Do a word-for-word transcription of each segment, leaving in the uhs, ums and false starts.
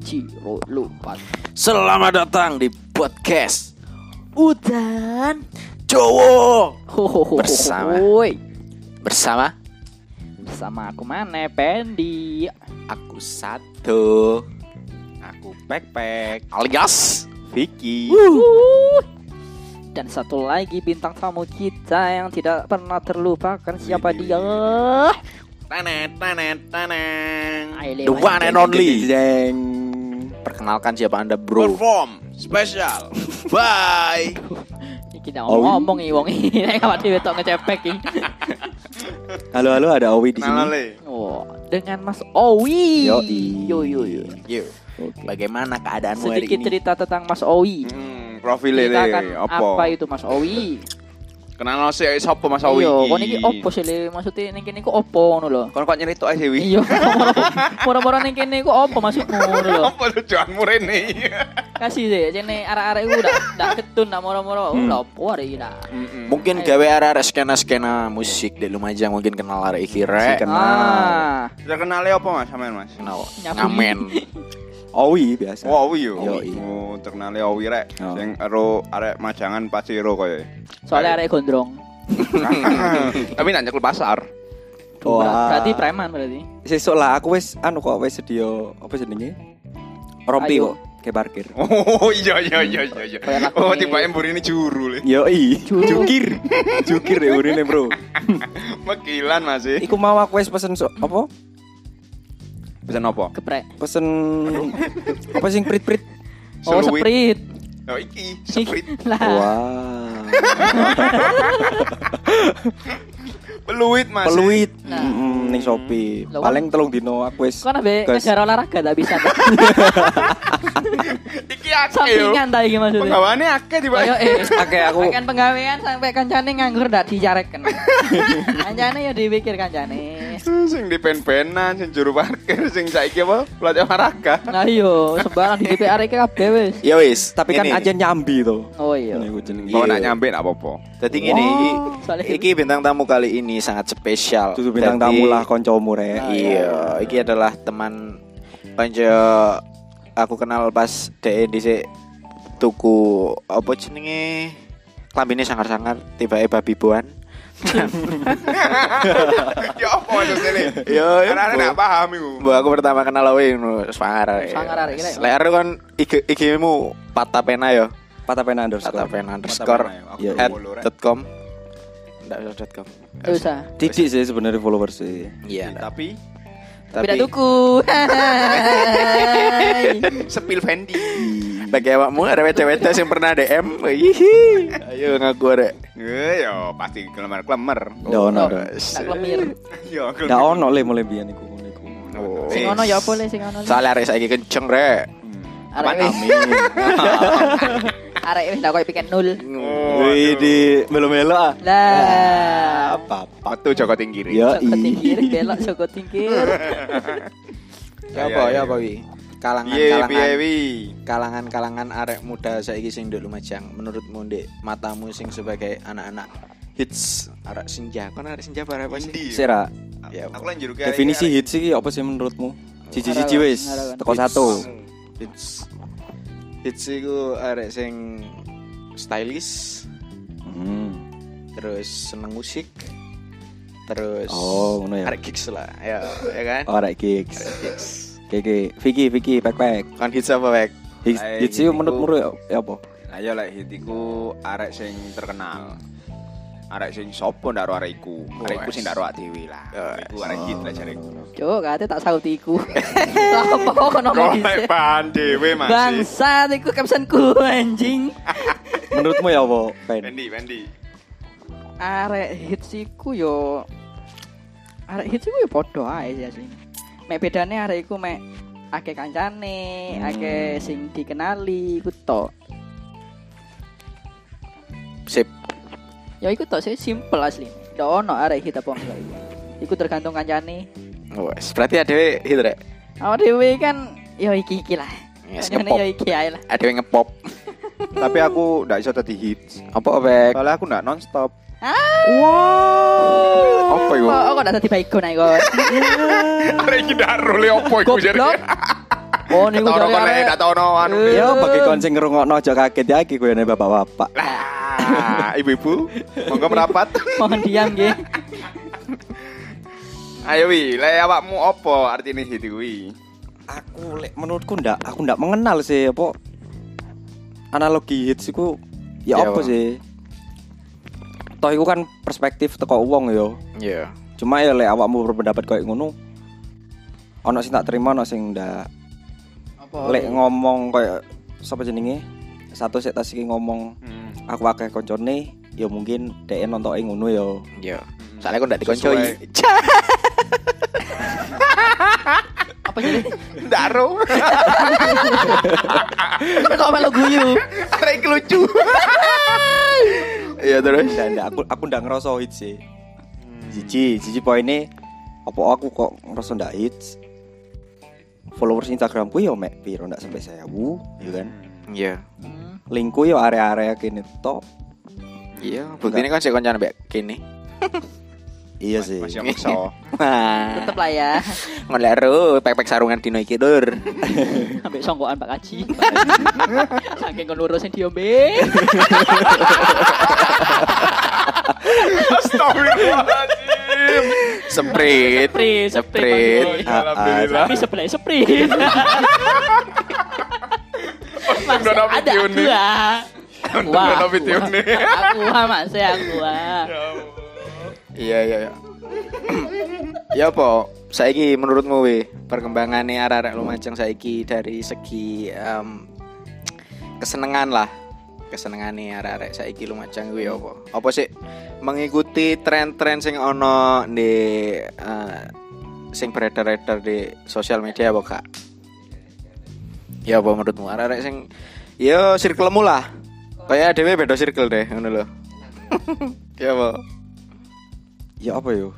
Ciro Lupat. Selamat datang di podcast Udan Jowo Hohoho. Bersama Bersama Bersama aku mana Pendi. Aku Satu, Aku Pek-Pek alias Vicky. Wuh. Dan satu lagi bintang tamu kita yang tidak pernah terlupakan. Siapa dia? Tanet tanet taneng Ayo, The one and only. Jeng. Perkenalkan siapa anda bro. Perform special. Bye. Iki dah ngomong iki wong iki nek awak dhewe tok ngecepek iki. Halo halo, ada Owi di sini. Oh, dengan Mas Owi. Yoi. Yo yo yo. Yo. Bagaimana keadaanmu hari Sedikit ini? cerita tentang Mas Owi. Hmm, profile Ceritakan apa? apa itu Mas Owi? Kenal sih sapa Mas Owi? Iya, kon iki opo sih le? Maksudnya ning kene iku opo ngono lho. Kon kok nyeritok ae Wi. Iya, moro-moro ning kene iku opo maksudmu ngono lho. Apa tujuanmu rene? Kasih deh, jene arek-arek iku ndak ndak ketun ndak moro-moro. Hmm. Lho opo arek iki dak. Mungkin gawe arek skena-skena musik di Lumajang mungkin kenal arek iki rek. Kenal. Ah, Sudah kenale apa Mas sampean Mas? Kenal. Nyapu. Ngamen. Owi biasa. Oh, Owi yo. Yoi. Oh, terkenale Owi rek. Oh. Sing ero arek Majangan Paciro koyo. soalnya arek gondrong. Tapi nak nyekel pasar. Oh, ah. Berarti preman berarti. Sesuk lah aku wis anu kok wis sedia apa jenenge? Rompi Ayo. kok ke parkir. Oh iya iya iya iya iya. Kayak lagu Oh ini. tiba embur ini juru le. Yoi. Juru. Jukir. Jukir ya urine, Bro. Mekilan Mas. e. Iku mau aku wis pesen so, apa? Pesan apa? Geprek. Pesen apa sing prit-prit? Oh, Seluit. sprint. Oh iki, sprint. Lah. Wah. Peluit Mas. e. Peluit. Nah. Mm, ning Shopee. Lah, Paling telung dino aku wis. Kok nabe gas. ngejar olahraga tak bisa. Iki akeh yo. Sampingan ta iki maksudnya. Penggawaane akeh tiba. Ayo eh. Akeh aku. Akan penggawean sampai kancane nganggur ndak dijareken. Kancane ya dipikir kancane. Sing di pen-penan, sing juru parkir, sing saiki apa? Pelatih olahraga. Nah iya, sembarang di D P R iki kabeh wis. Ya wis. Tapi kan ini. aja nyambi to. Oh iya. Ini aku jenenge. Kok Iya. nak nyampe nak apa-apa. Jadi gini, iki, soalnya iki bintang tamu kali ini sangat spesial. Dudu bintang Jadi, tamu lah koncomu rek. Iya, iki adalah teman panjo aku kenal pas dhek dhisik tuku apa jenenge? Klambine sangar-sangar tiba-tiba babiboan. Ya apa maksudnya? Yo, Karena nak paham iku. Bu aku pertama kenal kowe ngono sangar. Sangar arek iki, Rek. Lek arek kon I G I G-mu patapena yo. Patapena underscore. Patapena underscore Patapena, aku Iya. at follow, Rek. dot com. Ndak usah dot com. Nggak usah. Titik sih sebenarnya followers sih. Iya, ndak. Tapi Tapi tidak tuku. Hai. sepil Fendi. Bagi awakmu ada wece-wece yang pernah D M. Hihi. Ayo ngaku arek. Eh yo pasti klemer-klemer. Ndak ono. Tak lemir. Yo Ndak ono le mulai biyen iku ngono iku. Oh. Sing ono ya apa le sing ono le. Soalnya arek saiki kenceng rek. Arek wis. Arek wis ndak koyo piket nol. Wih di melo-melo ah. Lah. Apa? Waktu Joko Tingkiri. Ya Joko tingkir belok Joko tingkir. Ya apa ya apa wi? Piye piye Kalangan-kalangan wi? kalangan-kalangan arek muda saiki sing nduk Lumajang menurutmu ndek matamu sing sebagai anak-anak hits arek senja kon arek senja apa apa sih? Endi? Sera. Ya, Aku lan juru Definisi hits iki apa sih menurutmu? Cici-cici wis Harapan. teko satu. hits hits iku arek sing stylish Hmm. terus seneng musik terus Oh, ngono ya. arek gigs lah ya ya kan Oh, arek gigs. Arek gigs Oke, Vicky, Vicky, pek-pek. kan hits apa Bek? Hits, Ayo, hits itu gitu. menurutmu ya ya apa? Ayo lek hitiku arek sing terkenal. Arek sing sopo ndak ro arek iku. Arek iku sing ndak ro dhewe lah. Iku arek hit lah jareku. Cuk, kate tak sauti iku. Lah apa kok ono Kok ngomong lek dhisik. bahan dhewe Mas. Bangsat iku captionku anjing. Menurutmu ya apa, Pen? Fendi, Fendi. Arek hits iku yo arek hits iku yo padha ae sih asline. Mek bedane arek iku mek akeh kancane, Hmm. akeh sing dikenali iku tok. Sip. Ya iku tok sih simple asline. Ndak ono arek hit apa enggak iku. Iku tergantung kancane. Wes, berarti adewe hit rek. Awak dhewe kan yo iki-iki lah. Yes, Kancane ngepop. yo iki ae lah. Adewe ngepop. Tapi aku ndak iso dadi hits. Apa Bek? Soalnya aku ndak non stop. Wow. Apa iku? Kok kok dadi baygon ae kok. Arek iki ndak role opo iku Goblok. Oh niku Ketara jare kon lek arek. ndak ono anu. Ya bagi kon sing ngrungokno aja kaget ya iki kowe bapak-bapak. Lah, ibu-ibu, monggo merapat. Mohon diam nggih. Ayo wi, lek awakmu apa artine hit kuwi? Aku lek menurutku ndak aku ndak mengenal sih apa analogi hits iku ya Ya, apa Bang. sih. Toh iku kan perspektif teko wong ya. Iya. Cuma ya lek awakmu berpendapat koyo ngono ono sing tak terima ono sing ndak. Apa? Lek ngomong koyo sapa jenenge? Satu sik tas iki ngomong Hmm. aku akeh koncone ya mungkin dhek nontoke ngono ya. Iya. Soalnya aku ndak dikoncoi. Apa jadi? Ndaro. Kok melu guyu? Arek iki lucu. Iya terus. Ndak ndak aku aku ndak ngerasa hits sih. Siji, siji poine apa aku kok ngerasa ndak hits. Followers Instagramku ya mek piro ndak sampai seribu, ya kan. Iya. Hmm. Linkku ya area-area kene tok. Iya, buktine kan sik koncane mbek kene. Iya sih. Masih maksa. Wah. Tetep lah ya. Ngeleru pek-pek sarungan dino iki, Dur. Ambek songkokan Pak Kaji. Saking kon urusin diombe. Astagfirullahaladzim. Sprint. Sprint, Sprint. Sprint. Alhamdulillah. Tapi sebelah sprint. Masih Udah ada ada video aku nih. ah. Udah ada video nih. Aku ah masih aku ah. Iya, iya, iya. Ya apa? Saiki menurutmu we perkembangannya arek-arek Lumajang saiki dari segi em, kesenengan lah. Kesenengane arek-arek saiki Lumajang kuwi apa? Apa sih mengikuti tren-tren sing ono di eh, sing beredar-edar di sosial media apa gak? Ya apa menurutmu arek-arek sing ya circlemu lah. Kayak dhewe beda circle deh ngono lho. Ya apa? Ya apa yo?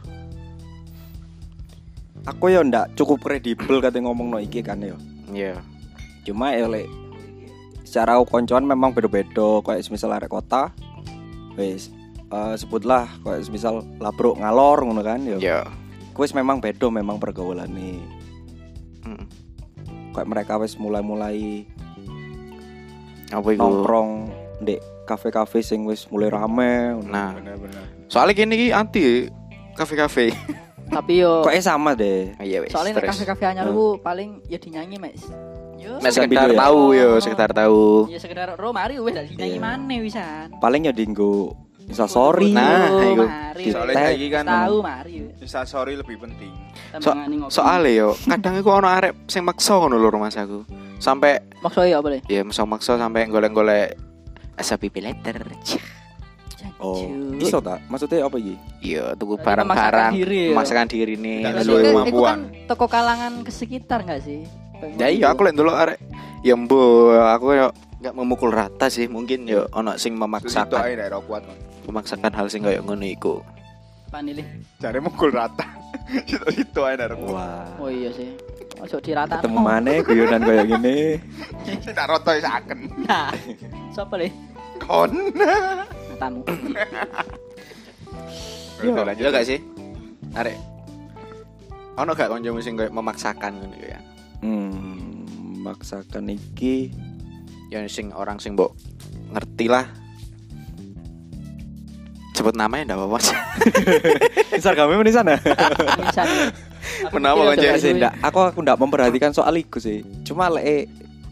Aku ya ndak cukup kredibel kate ngomong no iki kan ya. Iya. Cuma ya lek secara koncoan memang beda-beda kayak semisal arek kota. Wis eh, sebutlah kayak semisal labruk ngalor ngono kan ya. Iya. Wis memang beda memang pergaulane. Mm. Kayak mereka wis mulai-mulai Apa iku? nongkrong ndek kafe-kafe sing wis mulai rame. Nah, Benar-benar. soalnya gini iki anti kafe-kafe. Tapi yo Kok sama deh. Iya wis. soalnya nek terus. kafe-kafe anyar ku paling ya dinyanyi Mas. Yo. Mek Sudah sekedar video ya? tahu yo, sekedar tahu. Ya sekedar ro mari wis dak dinyanyi Iya. maneh wisan. Paling ya dinggo instastory. Nah, Oh, iku. mari. Soalnya Tag. saiki kan Tahu mari. instastory lebih penting. So, Tembangane ngopi. soalnya yo, kadang iku ono arek sing maksa ngono lho rumah aku. Sampai maksudnya apa le? ya maksa-maksa sampai golek-golek S P P letter. Oh, iso tak? Maksudnya apa iki? Iya, tuku Berarti barang-barang, memaksakan diri ya? memaksakan diri nih. Tidak Berarti sesuai kan- kemampuan. itu kan toko kalangan ke sekitar enggak sih? Ya iya, aku lek ndelok arek ya mbo, aku yo enggak memukul rata sih, mungkin yo ono sing Itu memaksakan, ae daerah kuat. memaksakan hal sing koyo ngono iku. Panili. Jare mukul rata. Itu ae daerah kuat. Wah. Oh iya sih. Ojo dirata. Ketemu maneh guyonan kayak gini. Sing tak roto isaken. Nah. Sopo le? Kon. Tamu. Yo, Udah, lanjut. iya gak sih? Arek. Ono gak kancamu sing koyo memaksakan ngono ya? Hmm, maksakan iki Ya sing orang sing mbok ngerti lah. Sebut namanya ndak apa-apa sih. Instagramnya di sana. Wisan. Kenapa, Konco? Sih, ndak, aku aku ndak memperhatikan soal iku sih. Cuma lek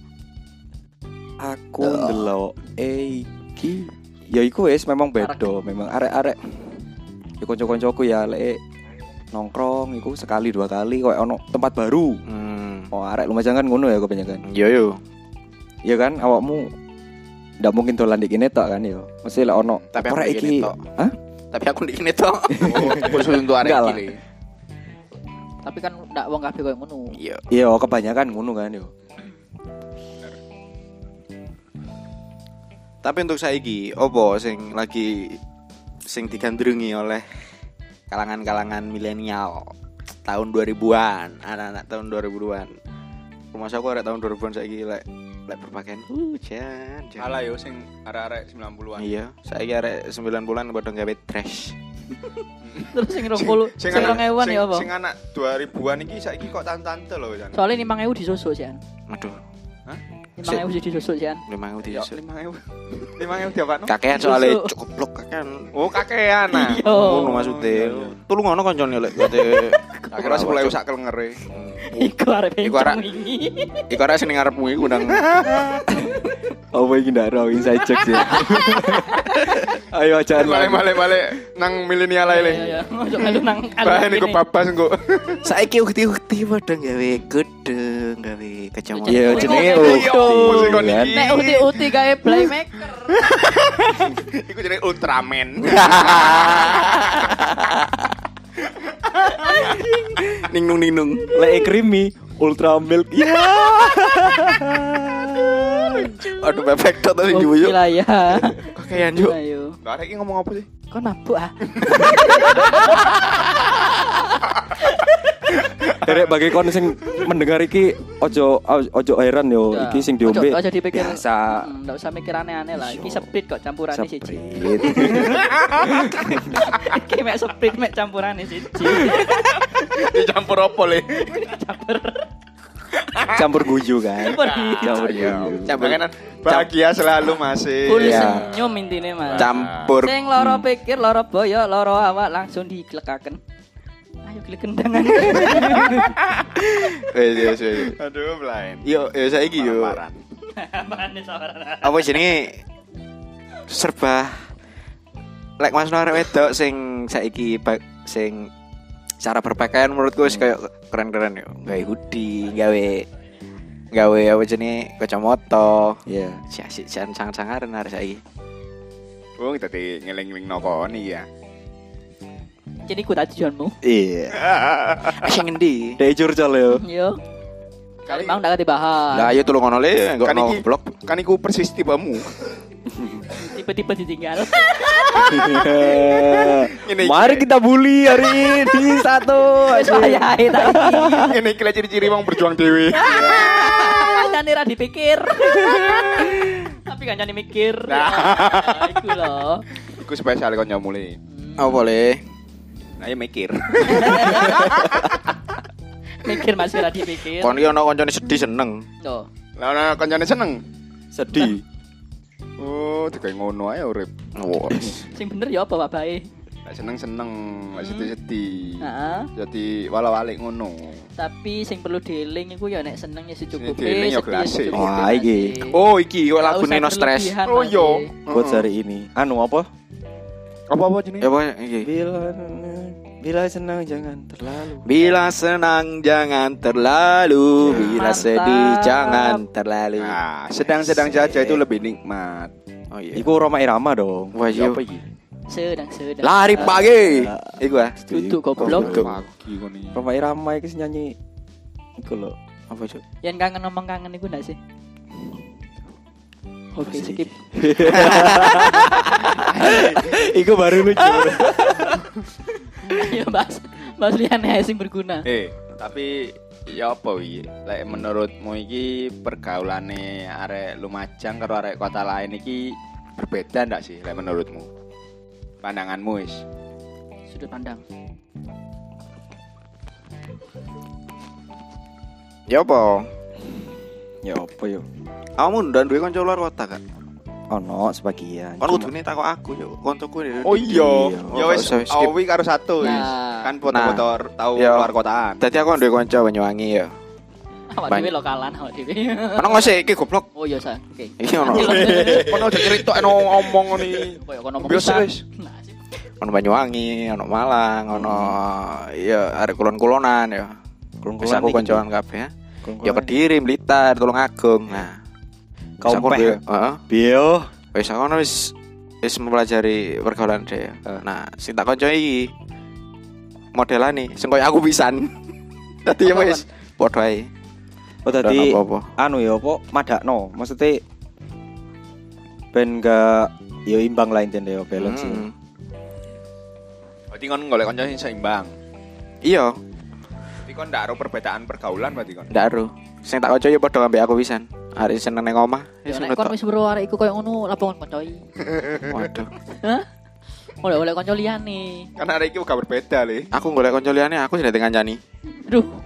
aku ndelok eh iki ya iku wis memang beda, memang arek-arek ya kanca-kancaku ya lek nongkrong iku sekali dua kali koyo ono tempat baru. Hmm. Oh, arek Lumajang kan ngono ya kebanyakan. Yo yo. Iya kan awakmu ndak mungkin dolan di kene tok kan ya. Mesti lek ono Tapi aku "Ora di iki." kene tok. Hah? Tapi aku di kene tok. Khusus untuk arek Enggak lah. iki. Tapi kan ndak wong kabeh koyo ngono. Iya. Iya, kebanyakan ngono kan yo. Tapi untuk saiki opo sing lagi sing digandrungi oleh kalangan-kalangan milenial tahun dua ribuan, anak-anak tahun dua ribuan. Rumah aku arek tahun dua ribuan saiki lek lek berpakaian hujan. jan. Alah yo sing arek-arek sembilan puluhan. Iya, saiki arek sembilan bulan padha gawe trash. Terus sing rong puluh, sing rong ewuan ya apa? Sing anak dua ribuan iki saiki kok tante-tante lho kan. Soalnya lima ewu disusuk sih. An. Aduh, lima ribu siji susuk sian. lima ribu Yo disusuk. lima ribu. lima ribu diapakno? Kakean soalnya cukup blok kakean. Oh, kakean nah. Iya. Ngono maksudnya. Tulung ngono koncone lek kate. Tak kira sepuluh ribu sak kelengere. Iku arep Iku arek- bencong wingi. Iku arek sing ngarepmu iku ndang. Oh iki ndak ro inside jokes ya. Ayo aja Balik-balik nang milenial ae le. Iya, iya. Ojo melu nang Bahan iku babas engko. Saiki ukti-ukti padha gawe gedeng, gawe kacamata. Iya jenenge Iya, ukti. mesti kon kan. iki. Nek uti-uti gawe playmaker. Iku jenenge Ultraman. Ningnung ningnung. Lek creamy ultra milk. Iya. Aduh bebek tok tadi Oke yuk. lah ya. Kakean yuk. Ayo. Lah arek iki ngomong apa sih? Kok mabuk ah? Derek bagi kon sing mendengar iki ojo ojo heran yo Ya. iki sing diombe. Ojo- ojo dipikir. Biasa. Hmm, nggak usah mikir aneh-aneh lah. Iki sprit kok campurane siji. Seprit. Iki mek sprit mek campurane siji. Dicampur apa le? Campur guyu kan. Campur guyu. Campur Iya. guyu. Campur. Jangan bahagia selalu masih. Full Iya. senyum intine Mas. Campur. Sing loro pikir, loro boyo, loro awak langsung diglekaken. Ayo glek kendangan. Wes wes wes. Aduh, blind. Yo yo saiki yo. Paran. Apaan sawaran? Apa jenenge serba lek Mas arek wedok sing saiki ba- sing cara berpakaian menurutku wis kayak keren-keren yo. Gawe hoodie, gawe gawe apa jenenge kacamata. Iya. Si asik jan sangar-sangaran arek saiki. Wong dadi ngeling-eling nokoni ya. Jadi ku tadi tujuanmu. Iya. Sing endi? Dek curcol yo. Yo. Kali mau ndak dibahas. Lah ayo tulung ngono le, enggak Kan ono iki- blok. Kan iku persis tibamu. Tiba-tiba ditinggal. Ini Mari kita bully hari ini satu. Wis wayahe ta iki. Ini kira ciri-ciri wong berjuang dhewe. Kancane ra dipikir. Tapi kancane mikir. Nah. Ya, iku lho. Iku spesial kon nyamule. Apa boleh? Ayo mikir. Mikir masih ra dipikir. Kon iki ono koncone sedih seneng. Loh. Lah ana kancane seneng. Sedih. Oh, digawe ngono ae urip. Wes. Sing bener ya apa wabahe? Lek seneng-seneng, lek sedih-sedih. Heeh. Jadi wala-walik ngono. Tapi sing perlu dieling iku ya nek seneng ya secukupe, dieling ya sedih gelas sih. secukupe Wah, iki. masih. Oh, iki kok Nggak lagu usah No Stress. berlebihan, Oh, Mas, yo. eh. Quotes hari ini. Anu apa? Apa-apa jenenge? Ya apa iki? Bila bila senang jangan terlalu. Bila senang jangan terlalu, bila Mantap. sedih jangan terlalu. Nah, sedang-sedang saja itu lebih nikmat. Oh iya. Iku Roma Irama dong. Wah, Ya iya. apa iki? Sedang sedang. Lari pagi. Iku ah. Duduk goblok. Pagi kon iki. Roma Irama iki sing nyanyi iku lho. Apa cuk? Yang kangen ngomong kangen iku ndak sih? Oke, sih? skip. Iku baru lucu. Ayo bahas bahas liyane ae sing berguna. Eh, tapi ya apa wi? Lek menurutmu iki pergaulane arek Lumajang karo arek kota lain iki berbeda ndak sih lek menurutmu? Pandanganmu wis. Sudut pandang. Ya apa? Ya apa yo? Kamu ndak duwe kanca luar kota kan? Ono sebagian. Kan Cuma- kudune takok aku yo, kancaku ini. Oh iya, Iya. ya wis Oh, skip. awi karo satu wis. Nah. Kan foto-foto tahu Iya. luar kotaan. Dadi aku ndek kanca Banyuwangi ya. Awak Ban- dhewe lokalan awak dhewe. Ono ngosek iki goblok. Oh iya, Sa. Oke. Iki ono. Kono aja cerita eno ngomong ngene. Koyo kono ngomong Biasa pisan. wis. Nah, sih. Ono Banyuwangi, ono Malang, ono ya arek kulon-kulonan ya. Kulon-kulon Bisa aku iki. kancaan kabeh ya. Kulon-kulon Ya Kediri, Blitar, Tulungagung. Nah, Kaum Wis aku peh. ndek- heeh. Bio. Wis aku ono wis wis mempelajari pergaulan dhewe. Eh. Nah, sing tak kanca iki modelane sing koyo aku pisan. Dadi ya wis padha ae. Oh tadi apa-apa. anu ya apa madakno. Maksudnya ben gak yo imbang lah intine yo balance. ya. Hmm. Berarti kon golek kanca sing seimbang. Iya, Berarti kon ndak ero perbedaan pergaulan berarti kon. ndak ero. Sing tak kanca ya padha ambek aku pisan. Hari seneng nang omah. Ya Wis nek kon ngono tok. wis weruh arek iku koyo ngono lapo kon koncoi. Waduh. Hah? Oleh oleh kanca liyane. Kan arek iki uga berbeda le. Aku golek kanca liyane aku sing dadi kancani. Aduh.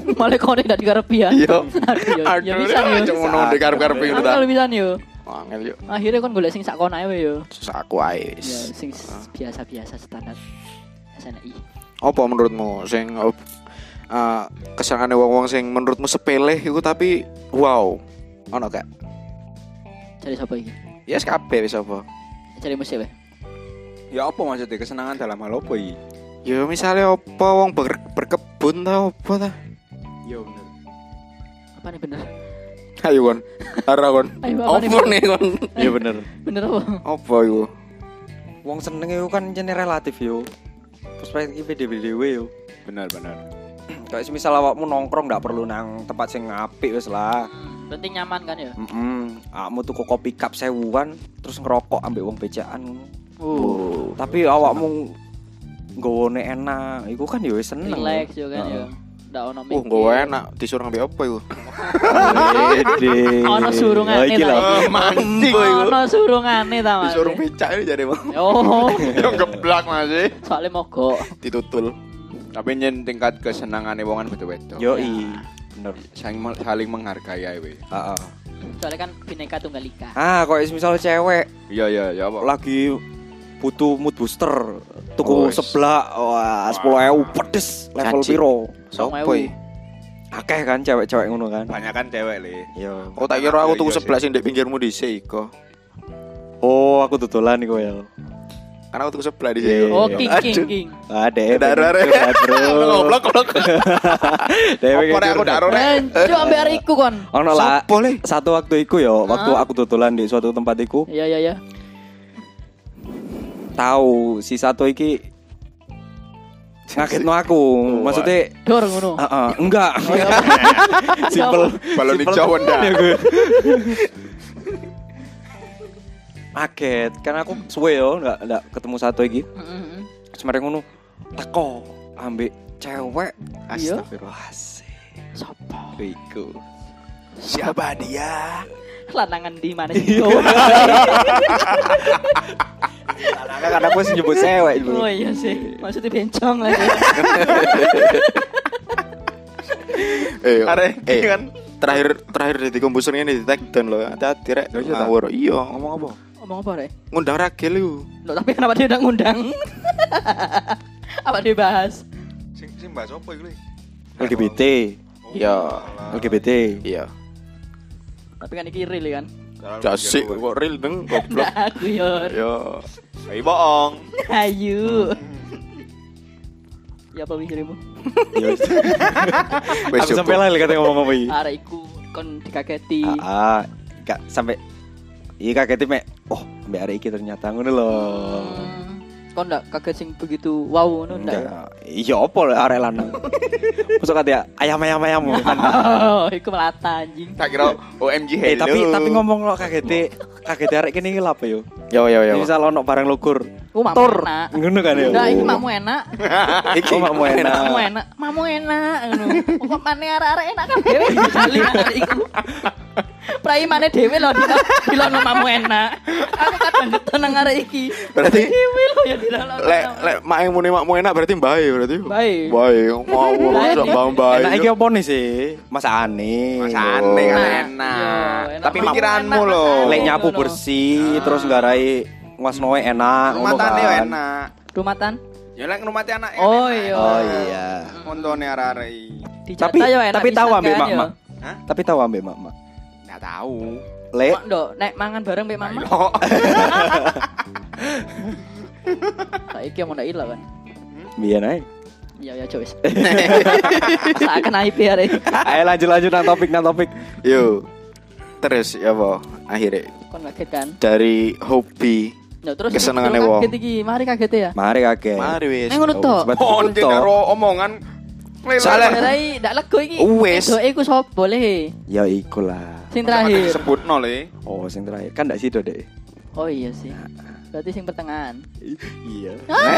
Malah kau ndak dikarepi ya. Iya. Aduh, ya, ya bisa yo. Cuma ngono dikarep-karep ngono ta. Kalau bisa yo. Angel yo. Akhirnya kon golek sing sak kono ae yo. Aku ae. Ya sing biasa-biasa standar S N I. Apa menurutmu sing uh, kesenengane wong-wong sing menurutmu sepele iku tapi wow. Ono gak? Cari sapa iki? Ya yes, kabeh wis apa? Cari musik wae. Ya apa maksudnya kesenangan dalam hal apa iki? Ya misalnya apa wong ber, berkebun ta apa ta? Ya bener. Apa nih bener? Ayo kon. Ara kon. Ayo, apa nih, Apa nih kon? Iya bener. Bener apa? Apa iku? Wong seneng itu kan jenenge relatif yo. Perspektif beda-beda yo. Benar benar. Kayak semisal awakmu nongkrong ndak perlu nang tempat sing apik wis lah. Hmm, penting nyaman kan ya? Heeh. Awakmu tuku kopi cup sewuan terus ngerokok ambek wong becaan ngono. Uh, Tapi awakmu nggone enak, iku kan yo seneng. relax yo kan Heeh. ya. Ndak ono Uh, nggo enak disuruh ngambil apa iku? Wede. Ono surungane Oh, iki lho. ta. Mancing iku. Ono surungane ta Mas. Disuruh becak iki jare mau. Oh, Yo geblak masih. soalnya mogok. Ditutul. Tapi nyen tingkat kesenangane wongan beda-beda. Yo i. Bener. Saling saling menghargai ae we. Heeh. Soalnya kan Bhinneka Tunggal Ika. Ah, kok misal cewek Iya iya ya apa? lagi butuh mood booster tuku Oh, wis. seblak wah sepuluh ribu pedes level Caci. piro Sopo iki? akeh kan cewek-cewek ngono kan Banyak kan cewek le. iya Oh tak kira aku Iya, tuku iya sebelah sih. sing ndek pinggirmu dhisik kok. oh aku tutulan iku ya Karena aku tuku sebelah di Iya. sini. Oh, king king Aduh. king. ada Dar, dar. Goblok goblok. Apa rek aku daro rek? Cuk ambek ariku kon. ono lah Sopo, Le? satu waktu iku yo waktu Hah? aku tutulan di suatu tempat iku Iya iya iya. tahu si satu iki ngagetno aku maksudnya Dor ngono. heeh enggak Oh, iya. simpel Balon simpel hijau temen ndak? ya gue. Kaget karena aku suwe yo enggak enggak ketemu satu iki Heeh. semarang ngono teko ambek cewek Iya. Astagfirullah. asik Sopo? iku Siapa dia? Lanangan di mana sih kau? karena aku sih nyebut cewek dulu Oh iya sih. Maksudnya bencong lagi. Eh, Arek eh, iki kan. terakhir terakhir di kompuser ini di take down loh. Hati-hati rek. Oh, iya, tak? Ngawur. Iya, ngomong apa? Ngomong apa rek? Ngundang Ragil iku. Loh, tapi kenapa dia udah ngundang? Apa dia bahas? Sing sing bahas apa iku le? L G B T Iya. L G B T Iya. Tapi kan iki real kan? Jasik kok real deng goblok. Nah, aku yor. Yo. Ayo bohong. Ayu. Ya apa mikirmu? aku sampai lah kata ngomong apa iki Arek iku kon dikageti. ah gak sampai iya kaget mek oh mbak hari iki ternyata ngono lho Hmm. Kon ndak kaget sing begitu wow ngono ndak? ya? enggak iya apa lah arek lanang masuk kata ayam ayam ayam Oh, iku melata anjing. Tak kira O M G eh hello. tapi tapi ngomong lo kaget kaget arek kene iki lho apa yo Yo yo yo. misal ono barang lugur Ku mamu tur enak. ngono kan ya Ndak iki mamu enak. iki makmu enak Mamu enak, mamu enak ngono. Kok mane arek-arek enak kan dhewe dicali arek iku. Prai mane dhewe lho dilono mamu enak. Aku kadang keton nang arek iki. Berarti Dhewe lho ya dilono. lek lek mak yang muni makmu enak berarti mbae berarti. Bae. Bae. Mau Bae. sok bang bae. enak iki apa nih sih masakane Mas aneh kan Enak. enak. Yo, enak. Tapi Mamu pikiranmu enak, loh. Mas. lek nyapu Ngono. bersih terus nggarai ngasnoe enak ngono Rumatane yo kan enak. Rumatan. Ya lek ngrumati anak Oh iya. oh iya Montone arek-arek iki. Di tapi Jakarta yo enak tapi tahu pisan ambek kan, mak yo. mak Hah? tapi tahu ambek mak mak Enggak tahu. lek Mak ndok nek mangan bareng mbek mama. Ayo. Saiki mau ndak ilang kan. biyen ae Iya ya coba. Seakan I P arek. ayo lanjut lanjut nang topik nang topik Yo. Terus ya apa? Akhirnya Kon kaget kan. dari hobi Ya terus Kesenengane terus wong. kaget iki, mari kaget ya. mari kakek mari wis. Nek ngono to. Oh, anjing karo omongan. Salah. Rai ndak lego iki. Wes. Doe iku sop boleh. ya iku lah Sing terakhir. Sebutno le. oh sing terakhir kan ndak sido deh Oh iya sih. Berarti sing pertengahan. iya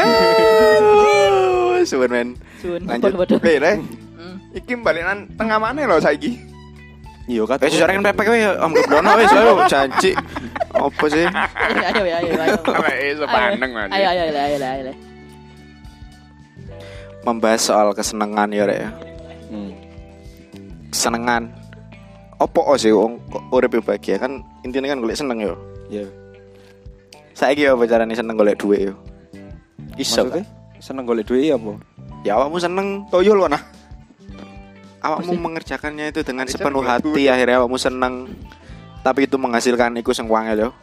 Eh, suwen men. Sun. Lanjut. Bodoh. Le, le. Hmm. Iki balikan tengah mana lho saiki? iya kan Wes sejarah kan pepek wae am gebrono wis ayo janji. Apa sih? Ayo ayo ayo ayo. Awake sepandeng Mas. Ayo ayo ayo ayo ayo. Membahas soal kesenangan ya rek ya. Hmm. kesenengan. Opo sih wong kok urip bahagia kan intinya kan golek seneng yo. Ya. Saiki yo apa carane seneng golek duit yo. Iso Maksudnya kan? seneng golek duit ya apa? Ya awakmu seneng toyo lho nah. Awakmu Pasti. mengerjakannya itu dengan Bisa sepenuh golek hati duit. akhirnya awakmu seneng. Tapi itu menghasilkan iku sing wangel yo.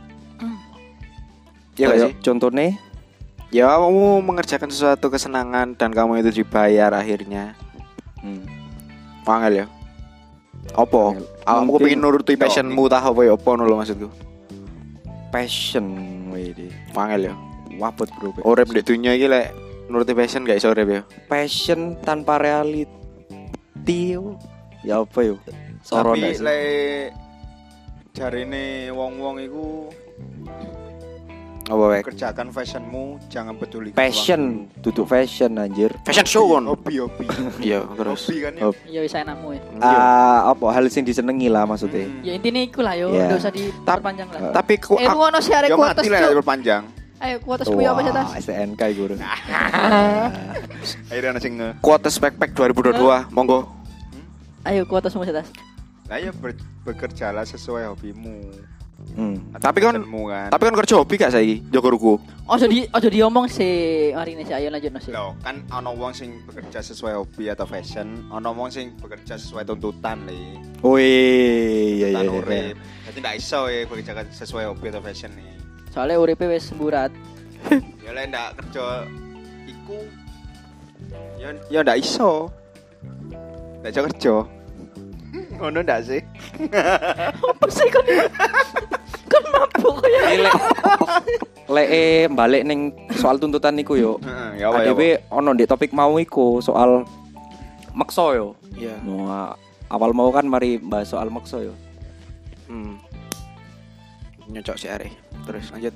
Iya gak Kayak sih? contohnya Ya kamu mengerjakan sesuatu kesenangan dan kamu itu dibayar akhirnya. hmm. Wangel ya. Opo? Wangel. Awakmu Mungkin- kepengin nuruti passionmu tah apa ya opo lho maksudku. passion wede. Wangel ya. Wabot bro. Urip di dunia iki lek nuruti passion gak iso urip ya. Passion tanpa reality yo. Ya apa yo? Soro Tapi ndak sih? lek jarine wong-wong iku Apa wae? kerjakan fashionmu, jangan peduli Passion, duduk fashion anjir. Fashion show kon. hobi hobi Iya, terus. hobi kan ya. Hobi. Ya wis enakmu ya. Ah, apa hal sing disenengi lah maksudnya. Hmm. Ya intinya iku lah yo, Ya. enggak usah diperpanjang lah. Tapi ku Eh ngono sih arek Ya kuotas mati lah Cuk. berpanjang. Ayo kuotasmu ya apa sih tas? S T N K iku. Akhirnya ana sing nge. kuotas backpack dua ribu dua puluh dua, monggo. Ayo kuotasmu sih tas. Lah ya ber- bekerjalah sesuai hobimu. Hmm. Atau Tapi kan- passionmu kan. Tapi kan kerja hobi gak saiki? Jaga ruku. Ojo di ojo diomong sih hari ini sih ayo lanjut sih. Loh, kan ana wong sing bekerja sesuai hobi atau fashion, ana wong sing bekerja sesuai tuntutan le. Wih, ya ya. Tuntutan ya. urip. Jadi ndak iso ya bekerja sesuai hobi atau fashion nih. Soalnya uripe wis burat. Ya lek ndak kerja iku ya ya ndak iso. Ndak iso kerja. Ngono ndak sih? Apa sih kan? Kan mabuk ya. Ini lek lek eh, balik ning soal tuntutan niku yo. Heeh, ya apa ya. A D W ono di topik mau iku soal makso yo. Iya. Nah, awal mau kan mari bahas soal makso yo. Hmm. Nyocok si Are. Terus lanjut.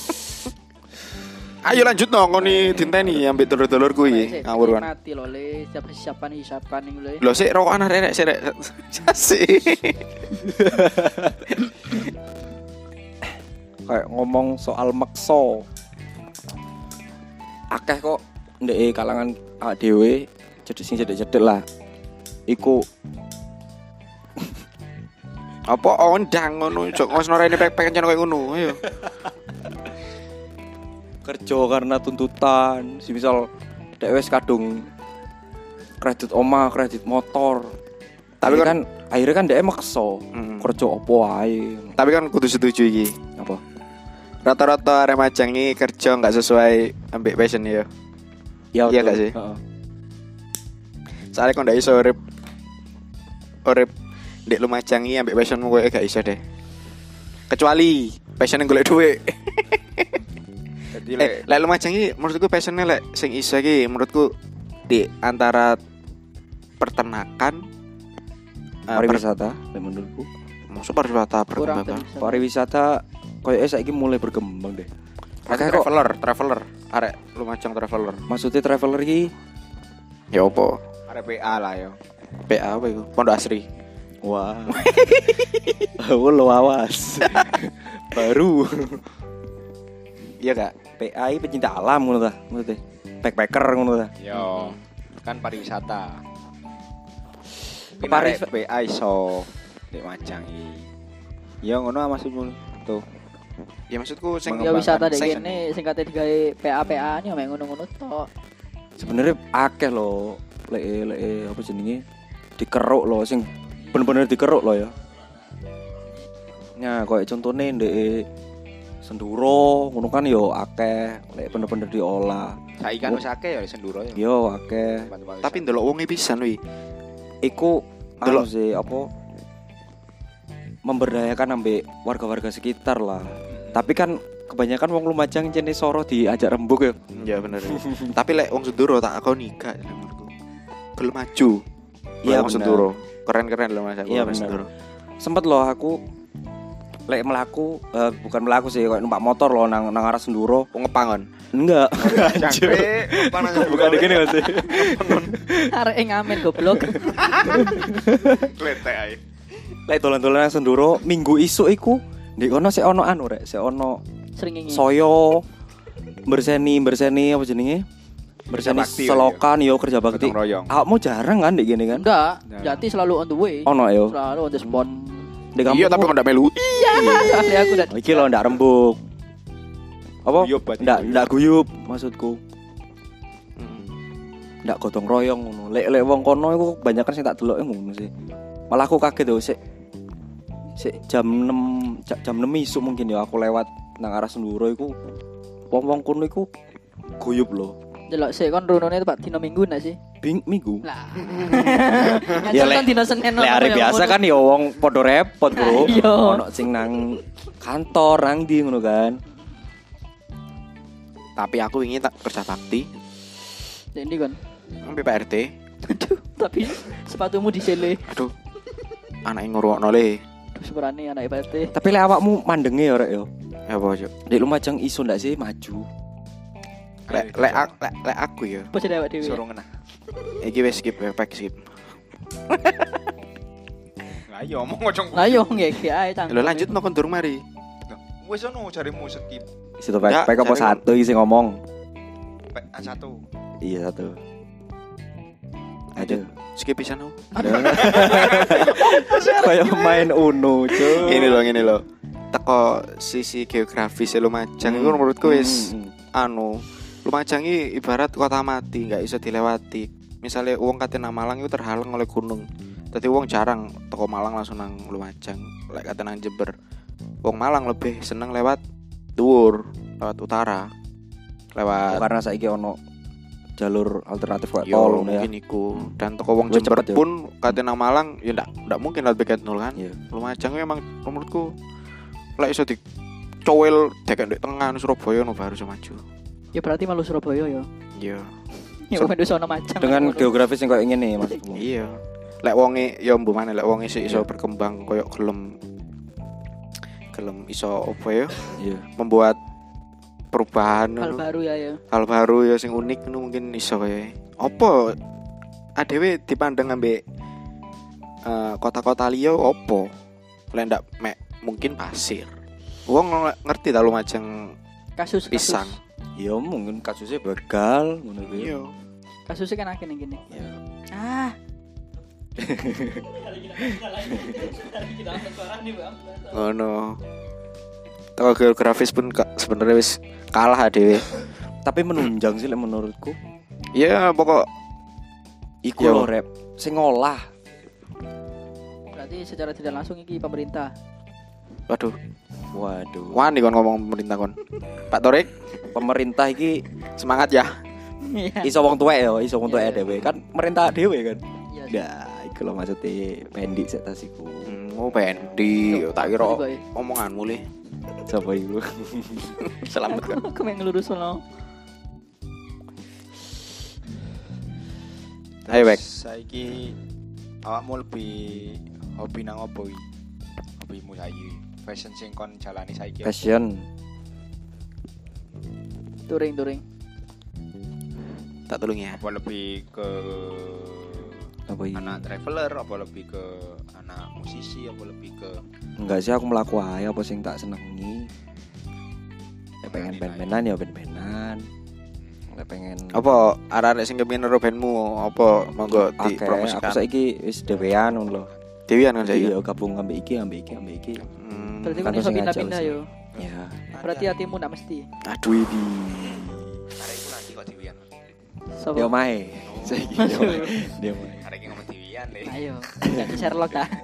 Ayo lanjut no, ngoni dinteni ambek dulur-dulur kuwi ngawur kan. Mati lho le, siapa siapan hisapan ning le. Lho sik rokokan arek sik rek. Sik. Kayak ngomong soal makso. Akeh kok ndek kalangan A D W cedek sing cedek-cedek lah. Iku Apa ondang ngono, jok ngosno rene pek-pek koyo ngono. Ayo. kerja karena tuntutan, si misal dek wis kadung kredit omah, kredit motor. Tapi Tapi kan akhirnya kan dek makso Mm. kerja opo wae. Tapi kan kudu setuju iki. Apa? Rata-rata arek majang iki kerja enggak sesuai ambek passion ya. Ya, Iya betul. gak sih? Heeh. Soalnya kok ndak iso urip urip ndek Lumajang iki ambek passionmu koyo gak iso deh. Kecuali passion golek dhuwit. Jadi Eh, lek lek Lumajang iki menurutku passionnya lek sing iso iki menurutku di antara peternakan eh, Pariwisata, lek menurutku. per- maksud pariwisata Kurang perkembangan. terus. Pariwisata koyo saiki mulai berkembang deh. Pakai Akeh kok traveler, traveler, arek Lumajang traveler. maksudnya traveler iki Ya opo? arep P A lah ya. P A apa iku? Pondok Asri. wah. Aku lo awas. Baru Iya gak? P A I pecinta alam ngono ta, maksudnya. Backpacker ngono ta. Yo, kan pariwisata. Paris- Paris P A iso nek Majang iki. Ya ngono maksudmu tuh. Ya maksudku sing Ya wisata dek sing- kene sing kate digawe P A P A nih mek ngono-ngono tok. Sebenarnya akeh loh, lek lek apa jenenge dikeruk loh, sing bener-bener dikeruk loh ya. Nah, kayak contohnya ndek Senduro, ngono kan yo akeh, lek bener-bener diolah. Saiki kan wis akeh ya Senduro ya. Yo akeh. Tempat-tempat tapi wisata. ndelok wonge pisan wi. Iku Delok. anu sih apa memberdayakan ambek warga-warga sekitar lah. Tapi kan kebanyakan wong Lumajang jenis soro diajak rembug ya. Ya bener. Tapi lek wong Senduro tak akoni gak menurutku. Gelem maju. Iya, wong bener. Senduro. Keren-keren loh Mas aku. Iya, wong bener. Senduro. Sempet loh aku lek melaku eh, bukan melaku sih kayak numpak motor loh nang nang arah Senduro. Wong ngepangon. Enggak. Jangkrik, panas Bukan gini Mas. Arek ngamen goblok. kletek ae. Lek dolan-dolan nang Senduro minggu isuk iku ndek kono sik ono anu rek, sik ono Sering ngingi. soyo berseni berseni apa jenenge? Bersani bakti ya, selokan yo kerja bakti. Gotong royong. Awakmu jarang kan ndek gini kan? Enggak, Nah. Jati selalu on the way. Ono yo. Selalu on the spot. Di kampung. Iya tapi kok ndak melu. Iya, soalnya aku udah Oh, iki lho ndak rembug. Apa? Guyub berarti. Ndak ndak guyub maksudku. Hmm. Ndak gotong royong ngono. Lek lek wong kono iku kebanyakan sing tak deloke ngono sih. Malah aku kaget lho sik sik jam enam ja- jam enam isuk mungkin ya aku lewat nang arah Senduro iku wong-wong kono iku guyub lho. delok sik kon runone Pak dino Minggu ndak sih? Bing minggu. Lah. Ya, Ya lek- kan dino Senin. Lek hari biasa kan ya wong padha repot, Bro. Iya. Ono sing nang kantor nang ndi ngono kan. Tapi aku ingin tak kerja bakti Ini kon. nang P P R T. Aduh, tapi sepatumu disele. Aduh. Anake ngrungokno le. Aduh, sepurane anak P R T. Tapi lek awakmu mandenge ya rek yo. Ya apa, Cuk? Dek Lumajang iso ndak sih maju? Lek lek ak- lek lek aku ya. Apa sih awak dhewe? Suruh ngena. Iki wis skip, back skip. Lah iya omong ojo. Lah yo ngeke ae cang. Lho lanjut no kon durung mari. Wis ono jarimu skip Situ Ya, pek pek apa jadi- satu iki sing ngomong. pek A satu. Iya satu. Aduh. Skip pisan aku. Kayak main Uno, cuy. Ini loh, ini loh. Teko sisi geografis Lumajang itu menurutku wis anu. Lumajang ini ibarat kota mati, nggak bisa dilewati. Misalnya uang kate nang Malang itu terhalang oleh gunung. Tapi uang jarang teko Malang langsung nang Lumajang. Lek kate nang Jember. Wong Malang lebih seneng lewat dhuwur, lewat utara. Lewat Karena saiki ono jalur alternatif kayak yo tol ya. mungkin iku. Dan toko wong Lebih Jember cepet ya. pun kate nang Malang ya ndak ndak mungkin lewat Beket Nol kan. Iya. Lumajang emang menurutku lek iso dicowel dekek ndek tengah Surabaya no baru iso maju. Ya berarti malu Surabaya ya. Iya. Ya So- wong sono Majang. Dengan Ngono. geografis yang kayak ngene maksudmu. Iya. Lek wonge ya mbuh maneh lek wonge sik iso Iya. berkembang koyo gelem gelem iso apa ya Iya. membuat perubahan Hal ngono. baru ya ya. Hal baru ya sing unik ngono mungkin iso kaya. Apa adewe dipandang ambek eh, kota-kota liya apa? Lek ndak mek mungkin pasir. Wong ngerti ta Lumajang Kasus pisang. Ya mungkin kasusnya begal ngono kuwi. Iya. Kasusnya kan akeh ning kene. Iya. Ah. Ngono. Teko geografis pun ka- sebenarnya wis kalah adewe. Tapi menunjang sih lek menurutku. Ya pokok Iku Yo. lho rep sing ngolah. Berarti secara tidak langsung iki pemerintah. waduh, Waduh. wani kon ngomong pemerintah kon. Pak Torik, Pemerintah iki semangat ya. Iya. iso wong tuwek ya, iso wong tuwek Iya. dhewe kan merintah dhewe kan. Iya. Nah, iku lho maksudnya pendik sik tas iku. Hmm, oh pendi, tak kira Boy. omonganmu le. Sapa iku? Selamat kan. Aku main ngelurus sono. Ayo Bek. Saiki awakmu lebih hobi nang opo iki? Hobimu saiki fashion sing kon jalani saiki. Fashion. Touring touring. Tak tolong ya. Apa lebih ke Apa iki? anak traveler, apa lebih ke anak musisi, apa lebih ke Enggak sih aku melaku ae apa sing tak senengi. Nek pengen band-bandan ya band-bandan. Nek pengen Apa arek-arek sing kepengin nero bandmu apa monggo akeh dipromosikan. aku saiki wis dhewean ngono lho. Dewian kan saya. Iya gabung ambek iki ambek iki ambek iki. Hmm, Berarti Kan kan iso sing ngajak pindah-pindah wis. yo. Ya. Berarti hatimu ndak mesti. aduh ini. arek iku nanti kok diwian. Sopo? Dia mae. Saiki dia mae. Dia mae. Arek iki ngomong diwian le. Ayo. Jadi Sherlock ah.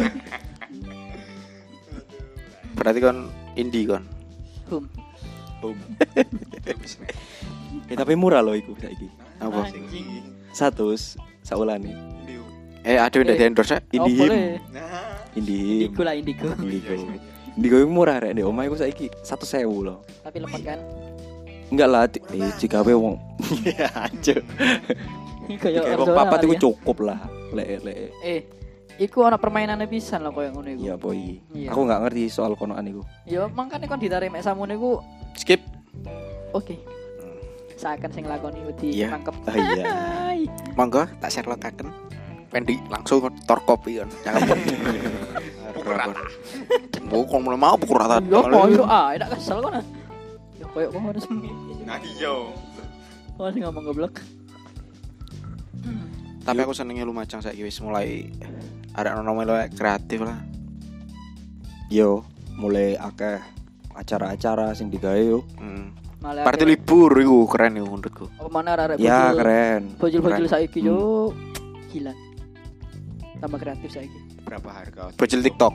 Berarti kon indie kon. Hum. Eh tapi murah loh iku saiki. Apa? Anjing. Satu saulane. Eh aduh ndak Eh. di endorse. Oh, Indihim. boleh. Indihim. Indigo lah indigo. Indigo. Indigo iku murah rek ndek omah iku saiki seratus ribu loh. Tapi lemot kan. Enggak lah, ti- eh jika we wong. Iya, aja. Kayak Kayak wong Arizona papat kali iku ya. cukup lah. Lek lek. Eh, iku ana permainannya pisan lho koyo ngono iku. Iya boy. Iya. Aku enggak ngerti soal konoan iku. Ya mangkane kon ditarik mek samune iku Skip. oke. Seakan sing lakoni wedi Iya. nangkep. Ah iya. Hai. Monggo tak share lokaken. Pendi langsung tor kopi kon. Jangan. Pukul rata. Bukan mulai mau pukul rata. Yo koyo ah, enak kesel kon. ah. Yo koyo kono sing. Nah iya. Oh, sing ngomong goblok. Tapi aku senengnya Lumajang saiki wis mulai ada ono mulai kreatif lah. Yo, mulai akeh acara-acara sing digawe yo. Hmm. Malah Parti akeh- libur iku keren iku menurutku. Apa mana arek Ya keren. Bojol-bojol Keren. saiki yo gila. Tambah kreatif saiki. Berapa harga? Bocil TikTok,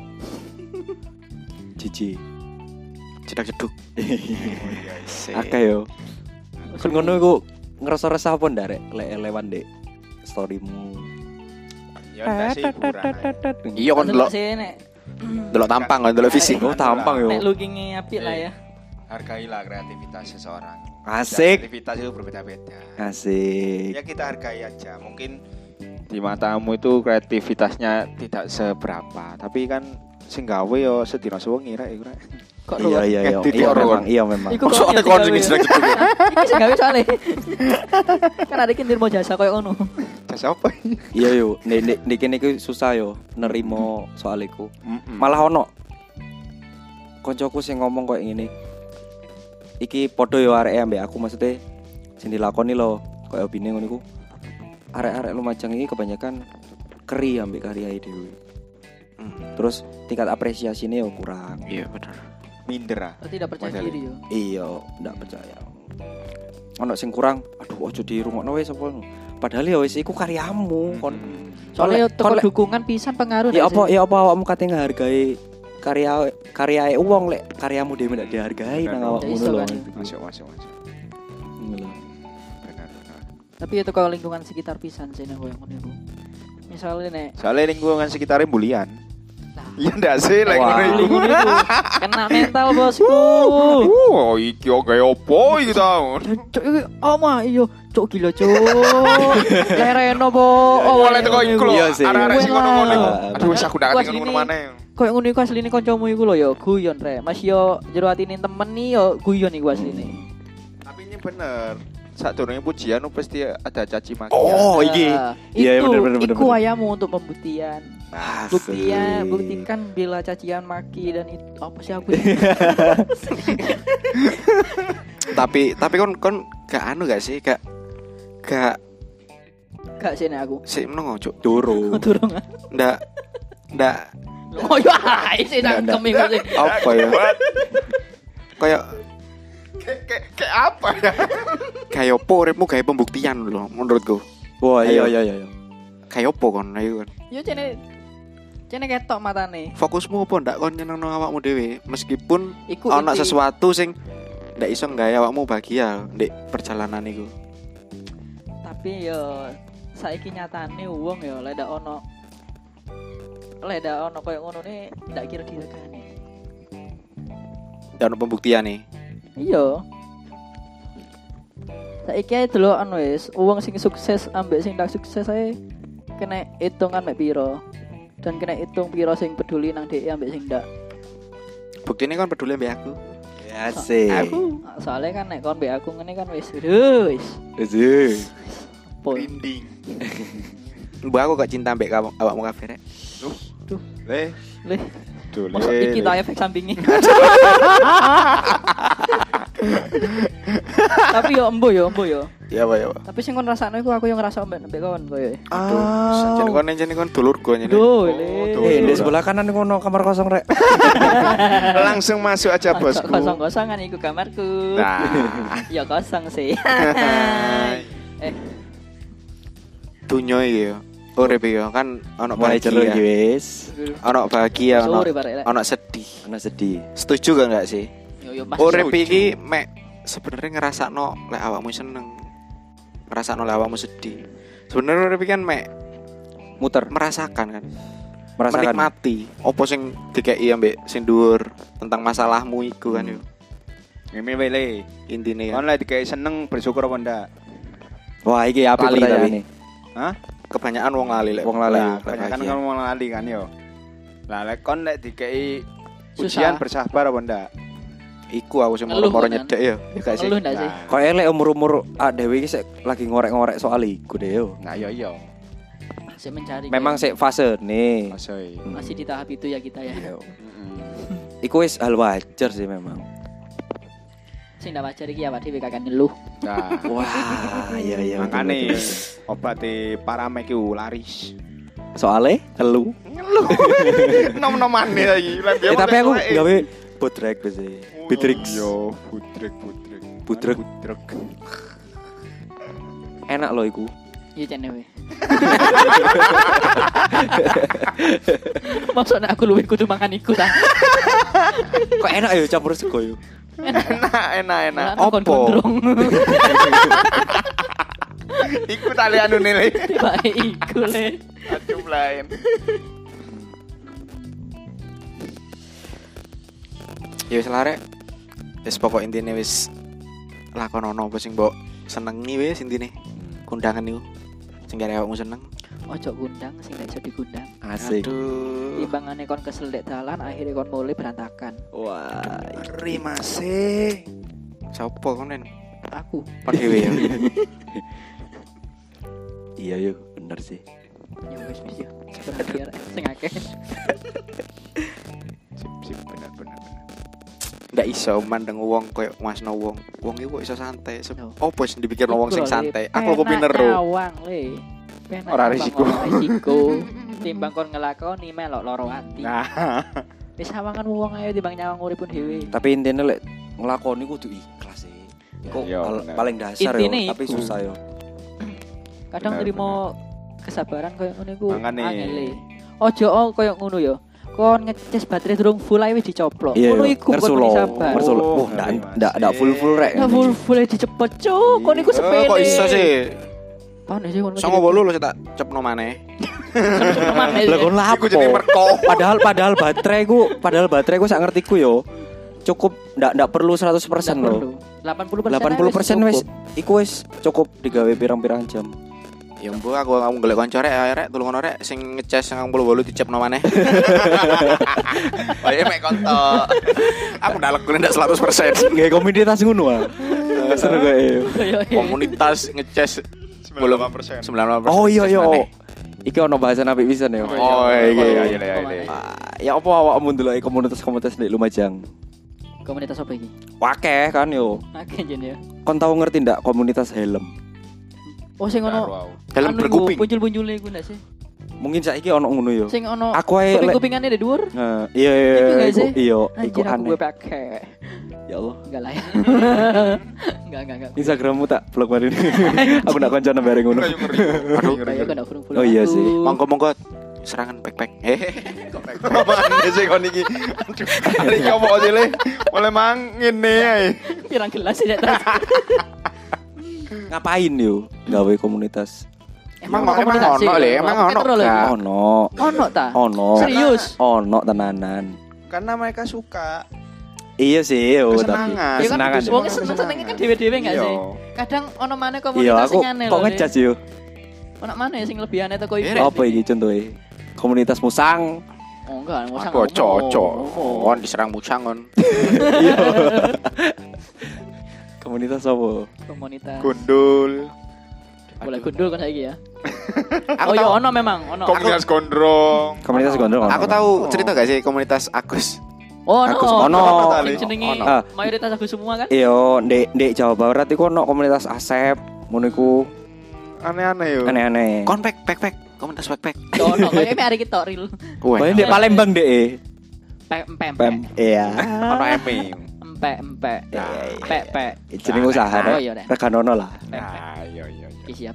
Jiji. cedak-ceduk. Oh iya. Sik. Akeh yo. Kon ngono iku ngerasa resah apa ndak rek lek lewat ndek storymu. Ya enggak sih hiburan aja. Iya kon delok sih nek delok tampang kon delok fisik. Oh tampang yo. nek looking-e apik lah ya. Hargailah kreativitas seseorang. Asik. Kreativitas itu berbeda-beda. Asik. Ya kita hargai aja. Mungkin di matamu itu kreativitasnya tidak seberapa, tapi kan sing gawe yo sedina sewengi rek iku rek. Kok Iya iya iya. Edit Iya orang. memang, iya memang. Iku Kok ada kon sing cedak-ceduk. Iki sing gawe soalé. Kan ada kintir mau jasa koyo ngono. Jasa apa? Iya yo, nek nek nek kene iku susah yo nerimo soal iku. Mm-mm. Malah ono koncoku sing ngomong koyo ngene. Iki padha yo arek ambek aku maksudnya sing dilakoni lho koyo opine ngono iku. Arek-arek Lumajang iki kebanyakan keri ambek karyae dhewe. Hmm. Terus tingkat apresiasinya yo kurang. Iya benar. Minder ah. Oh, tidak percaya Padahal. diri yo. Iya, ndak percaya. Ono sing kurang, aduh ojo dirungokno wis apa. Padahal ya wis iku karyamu kon. Soalnya Kon- toko kon lek- dukungan pisan pengaruh Ya ndak apa sih? ya apa awakmu kate ngehargai karya karyae wong lek karyamu dhewe ndak dihargai nang Bener. awakmu Ya iso lho. kan. Masuk masuk masuk. Ngono lho. Benar benar. Tapi itu kalau lingkungan sekitar pisan sih nek koyo ngono iku. Misalnya nek Soalnya lingkungan sekitarnya bulian. Nah. Iya ndak sih lek Wah. ngono iku. lingkungan itu kena mental bosku. Oh, iki oke opo iki ta? Cuk iki omah iya, cuk gila cuk. Lereno po. Oh, oleh teko iku lho. Iya sih. Arek-arek sing ngono-ngono iku. Wah. Aduh, wis aku ndak Wah, ngerti ngono sini. maneh. Koyo ngono iku asline kancamu iku lho ya guyon rek. Mas yo jero atine temen nih yo guyon iku asline. Tapi ini bener. Saat turunnya pujian pasti ada caci maki. Oh, iki. Nah, Iya, itu, bener, bener, bener, iku bener. ayamu untuk pembuktian. Asik. Buktian, buktikan bila cacian maki dan itu apa sih aku? Tapi tapi kon kon gak anu gak sih gak gak Gak sih nek aku. sik meneng cuk. Turu. Turun. Ndak ndak Oh ya, sih Nggak, nangkem iku sih. apa ya? Kayak Kayak kayak apa ya? kayak opo uripmu gawe pembuktian lho menurutku. Wah, iya Ayo. iya iya. Kayak opo kon ayo kon. Yo cene cene ketok matane. Fokusmu apa ndak kon nyenengno awakmu dhewe meskipun Iku ana inti- sesuatu sing ndak iso gawe awakmu bahagia ndek perjalanan iku. Tapi yo saiki nyatane wong yo lek ndak ono lek ndak ono koyo ngono ne ndak kira diregani. Dan pembuktian nih. Iya. Saiki ae delokan wis, wong sing sukses ambek sing ndak sukses ae kena hitungan mek piro. Dan kena hitung piro sing peduli nang dhek ambek sing ndak. Buktine kon peduli ambek aku. Asik. Aku soalnya kan nek kon mbek aku ngene kan wis wis. Asik. Pol. Rinding. Mbak aku gak cinta ambek kamu awakmu kabeh rek. Duh, Le, leh. Duh, Masa le, iki le. ta efek sampingnya. Tapi yo embo yo, embo yo. Iya, Pak, ya, Pak. Tapi sing kon rasakno iku aku yo ngerasa mbek mbek kawan koyo. Aduh, jane kon jane kon dulurku jane. Duh, tuh. Eh, di le. sebelah kanan ngono kamar kosong rek. Langsung masuk aja bosku. Kosong-kosongan iku kamarku. Nah. Ya kosong sih. eh, Dunyo iki yo. Urip iki yo kan ono Mulai jero iki bahagia. wis. Ono bahagia, ono sore barek. ono sedih. Ana sedih. Setuju gak enggak sih? Yo yo Mas. Urip iki mek sebenarnya ngerasakno lek awakmu seneng. Ngerasakno lek awakmu sedih. Sebenarnya urip iki kan mek Muter, merasakan kan. merasakan. Menikmati opo sing dikeki ambek sing dhuwur tentang masalahmu iku kan yo. Ngene wae le. Intine Kon kan. lek dikai seneng bersyukur apa ndak? Wah, iki apik Lali pertanyaane. Hah? Kebanyakan wong lali lek Wong lali. Lah, lek kebanyakan bahagia. kan ngomong lali kan yo. Lah lek kon lek dikai Susah. ujian bersabar apa ndak? Iku aku sing Ngeluh, moro-moro kan? nyedek ya. Ya gak sih. Ngeluh ndak sih? Nah, Kok elek umur-umur ah dhewe iki sik lagi ngorek-ngorek soal iku deh yo. Nah, yo yo. Masih mencari. Memang kayak- sik fase nih. Masoi. masih di tahap itu ya kita ya. Heeh. Iku wis hal wajar sih memang. Sing ndak wajar iki awak dhewe kakek ngeluh. Nah, Wah, iya iya. makane obate paramek iku laris. Soale telu. Ngeluh. Nom-nomane iki. Eh tapi aku gawe bodrek wis. Bitrix. Yo, budrek budrek. Budrek. budrek. Enak loh iku. Iya cene we. Maksudnya aku luwih kudu mangan iku ta. Kok enak ya campur sego yo. Enak, enak, enak. Opo? Opo? Iku tali anu nilai. Tiba iku le. Aduh lain. Ya wis larek. Wis pokok intine wis lakonono apa sing mbok senengi wis intine. Kondangan niku. Sing kare awakmu seneng. Ojo gundang sing gak iso digundang. Asik. Aduh. Timbangane kon kesel dek dalan akhirnya kon mulai berantakan. Wah. Ngeri masih. Sopo konen? Aku. Kon dhewe ya. Iya yo, bener sih. Ya wis wis ya. Sebenarnya sing akeh. Sip, sip, benar, benar, benar. Ndak iso mandeng wong koyo masno wong. Wong iku kok iso santai. Se- No. Opo sing dipikirno wong sing Iku lho, santai? Le. Aku kok Penak pinero. nyawang le. Penak Ora nyawang, risiko. ora risiko. Timbang kon ngelakoni melok loro ati. Nah, Wis sawangan wong ayo timbang nyawang uripun dhewe. Tapi intinya lek ngelakoni kudu ikhlas sih. Kok Iya, hal- bener. paling dasar yo, Intine tapi iku. susah yo. Kadang Benar, nrimo kesabaran koyo ngono iku Mangane. angele. Ojo oh, koyo ngono ya. Kon ngecas baterai durung full ae wis dicoplok. Iya, Ngono yo. iku kon Ngersulo, muni sabar. ngersulo. Oh, Wah, ndak ngeri, ndak ndak Mas. full-full rek. Nah, full full dicepet cuk. Kon iku Eh, sepele. kok iso sih? Panas sih kon. Songo bolu lho tak cepno maneh. Lah kon iku lapo? jenenge merko. Padahal padahal baterai ku, padahal baterai ku sak ngertiku yo. Cukup ndak ndak perlu seratus persen loh. delapan puluh persen. delapan puluh persen wis iku wis cukup digawe pirang-pirang jam. Ya mbok aku aku golek kanca rek rek tulungan rek sing ngecas sing bolu bolu dicepno maneh. Wae mek konto. Aku ndak lekune ndak seratus persen. Gawe komunitas ngono ah. Seru gae. Komunitas ngecas sembilan puluh delapan persen. sembilan puluh persen. Oh iya ngecas iya. maneh. Iki ono bahasan apik pisan ya. Oh iya iya iya iya. iya. Ah, ya apa awakmu ndelok komunitas-komunitas di Lumajang? Komunitas apa iki? Wakeh kan yo. Akeh jen ya. Kon tau ngerti ndak komunitas helm? Oh sing ono Wow. Helm berkuping. Puncul-puncule iku ndak sih? Mungkin saiki ono ngono yo. Sing ono Aku ae lek kuping-kupingane di dhuwur. Nah, iya iya Itu iya, nggak iku sih? iya, iku Anjir aku aneh. gue pakai. Ya Allah. Enggak lah ya. Enggak enggak enggak. Instagrammu tak blok mari ini. Aku nak koncone bareng ngono. Aduh. Kayak kan aku Oh iya sih. Monggo-monggo serangan backpack. Hehehe. Apaan sih kon iki? Aduh, hari iki opo sih le? Oleh mang ngene ae. pirang gelas sih terus. Ngapain yo gawe komunitas? Emang Emang emang komunitas sih, ono le, lho. emang Aku ono. ketero lho. Kak. Ono. Ono ta? Ono. Serius? Ono tenanan. Karena mereka suka Iya sih, yo tapi Kesenangan. Ya kan kesenangan. wong seneng senenge kan dhewe-dhewe enggak Iya. sih? Kadang ono maneh Iya, komunitas aku sing aneh kok lho, ngejudge Le. yo. Ono maneh sing lebih aneh teko Eh, iku. Apa iki contohnya? Komunitas musang. Oh enggak, enggak usah. Aku cocok. ngomong. Kon diserang musang kon. Komunitas apa? Komunitas. gundul. Boleh gundul kan saiki ya. Aku Oh iya tahu ono memang, ono. Komunitas gondrong. Komunitas gondrong. ono. aku tahu cerita gak sih komunitas Agus? Oh, ono. Agus ono. Sing jenenge Ono. Ah. mayoritas aku semua kan. Iya, ndek ndek Jawa Barat iku ono komunitas Asep, ngono iku Aneh-aneh yo. aneh-aneh. Kon pack pack pack komunitas pack pack. Ya ono, kayaknya hari kita real. Wah. Pokoknya ndek Palembang ndek. Pem pem Pem. Iya. Ono eme. empe empe. Iya, iya, Pe pe. Jeneng usaha Oh, nek. iya, Nek. Reganono lah. Pe pe. Nah, iya iya. Oke, siap.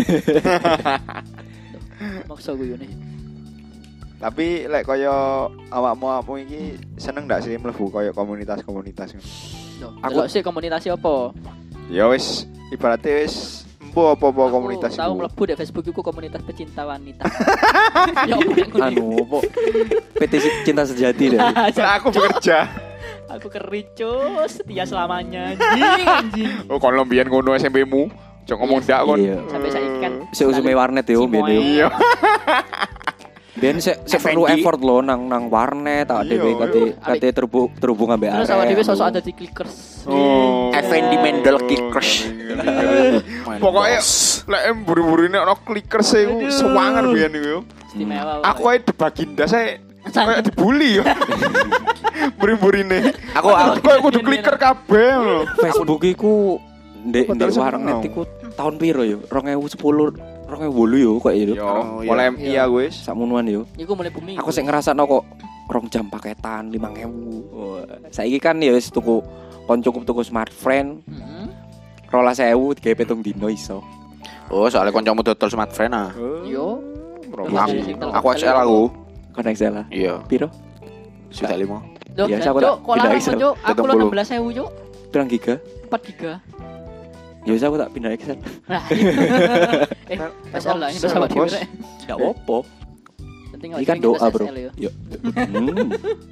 Maksa gue nih. Tapi lek kaya awakmu-awakmu iki seneng ndak sih mlebu kaya komunitas-komunitas ngono? Aku sih komunitas apa? Ya wis ibaratnya wis empo apa-apa komunitas Aku tahu iku. mlebu di Facebook iku komunitas pecinta wanita. Ya apa Anu opo? P T Cinta Sejati deh. Lah aku bekerja. Aku kericus setia selamanya anjing anjing. Oh kon lombian ngono S M P-mu. Jok ngomong ndak kon. Iya. Sampai saiki kan Sik usume warnet yo Cimoy. biyen yo. Iya. Ben sik sik perlu F and D. effort lo nang nang warnet tak Iya, dhewe kate kate terhubung terhubung ambek terus awak dhewe sosok ada di clickers. Oh. Effendi Mendel Kickers. Pokoknya lek buru-buru ini ono clickers e Aduh. sewangan biyen iku yo. Istimewa. Aku ae debaginda saya Kayak dibully ya. Buri-burine. Aku aku Kayak kudu kliker kabeh lho. Facebook iku ndek ndek Padahal warnet seneng. iku tahun piro yo? dua ribu sepuluh, dua ribu delapan yo kok yo. Yo, Oh, iya. mulai M I ya wis. Sakmonoan yo. Iku mulai booming. Aku sik ngrasakno kok rong jam paketan lima ribu. Wah, saiki kan ya wis tuku kon cukup tuku smartphone Heeh. rolas sewu digawe pitung dino iso. Oh, soalnya kancamu dodol smartphone ah. Yo. Aku, aku X L aku. Kon Excel lah. Iya, Piro? sudah lima. Loh, Ya, ya, aku Cuk, tak kok pindah larang Excel. Cuk? Aku lo Pitung enam belas ribu Cuk. Pirang giga? empat giga. Ya wis aku tak pindah Excel. Nah. Eh, pasal lah ini Bos. sama dhewe. Enggak apa-apa. Penting Ini kan doa, Bro. Yo. Hmm.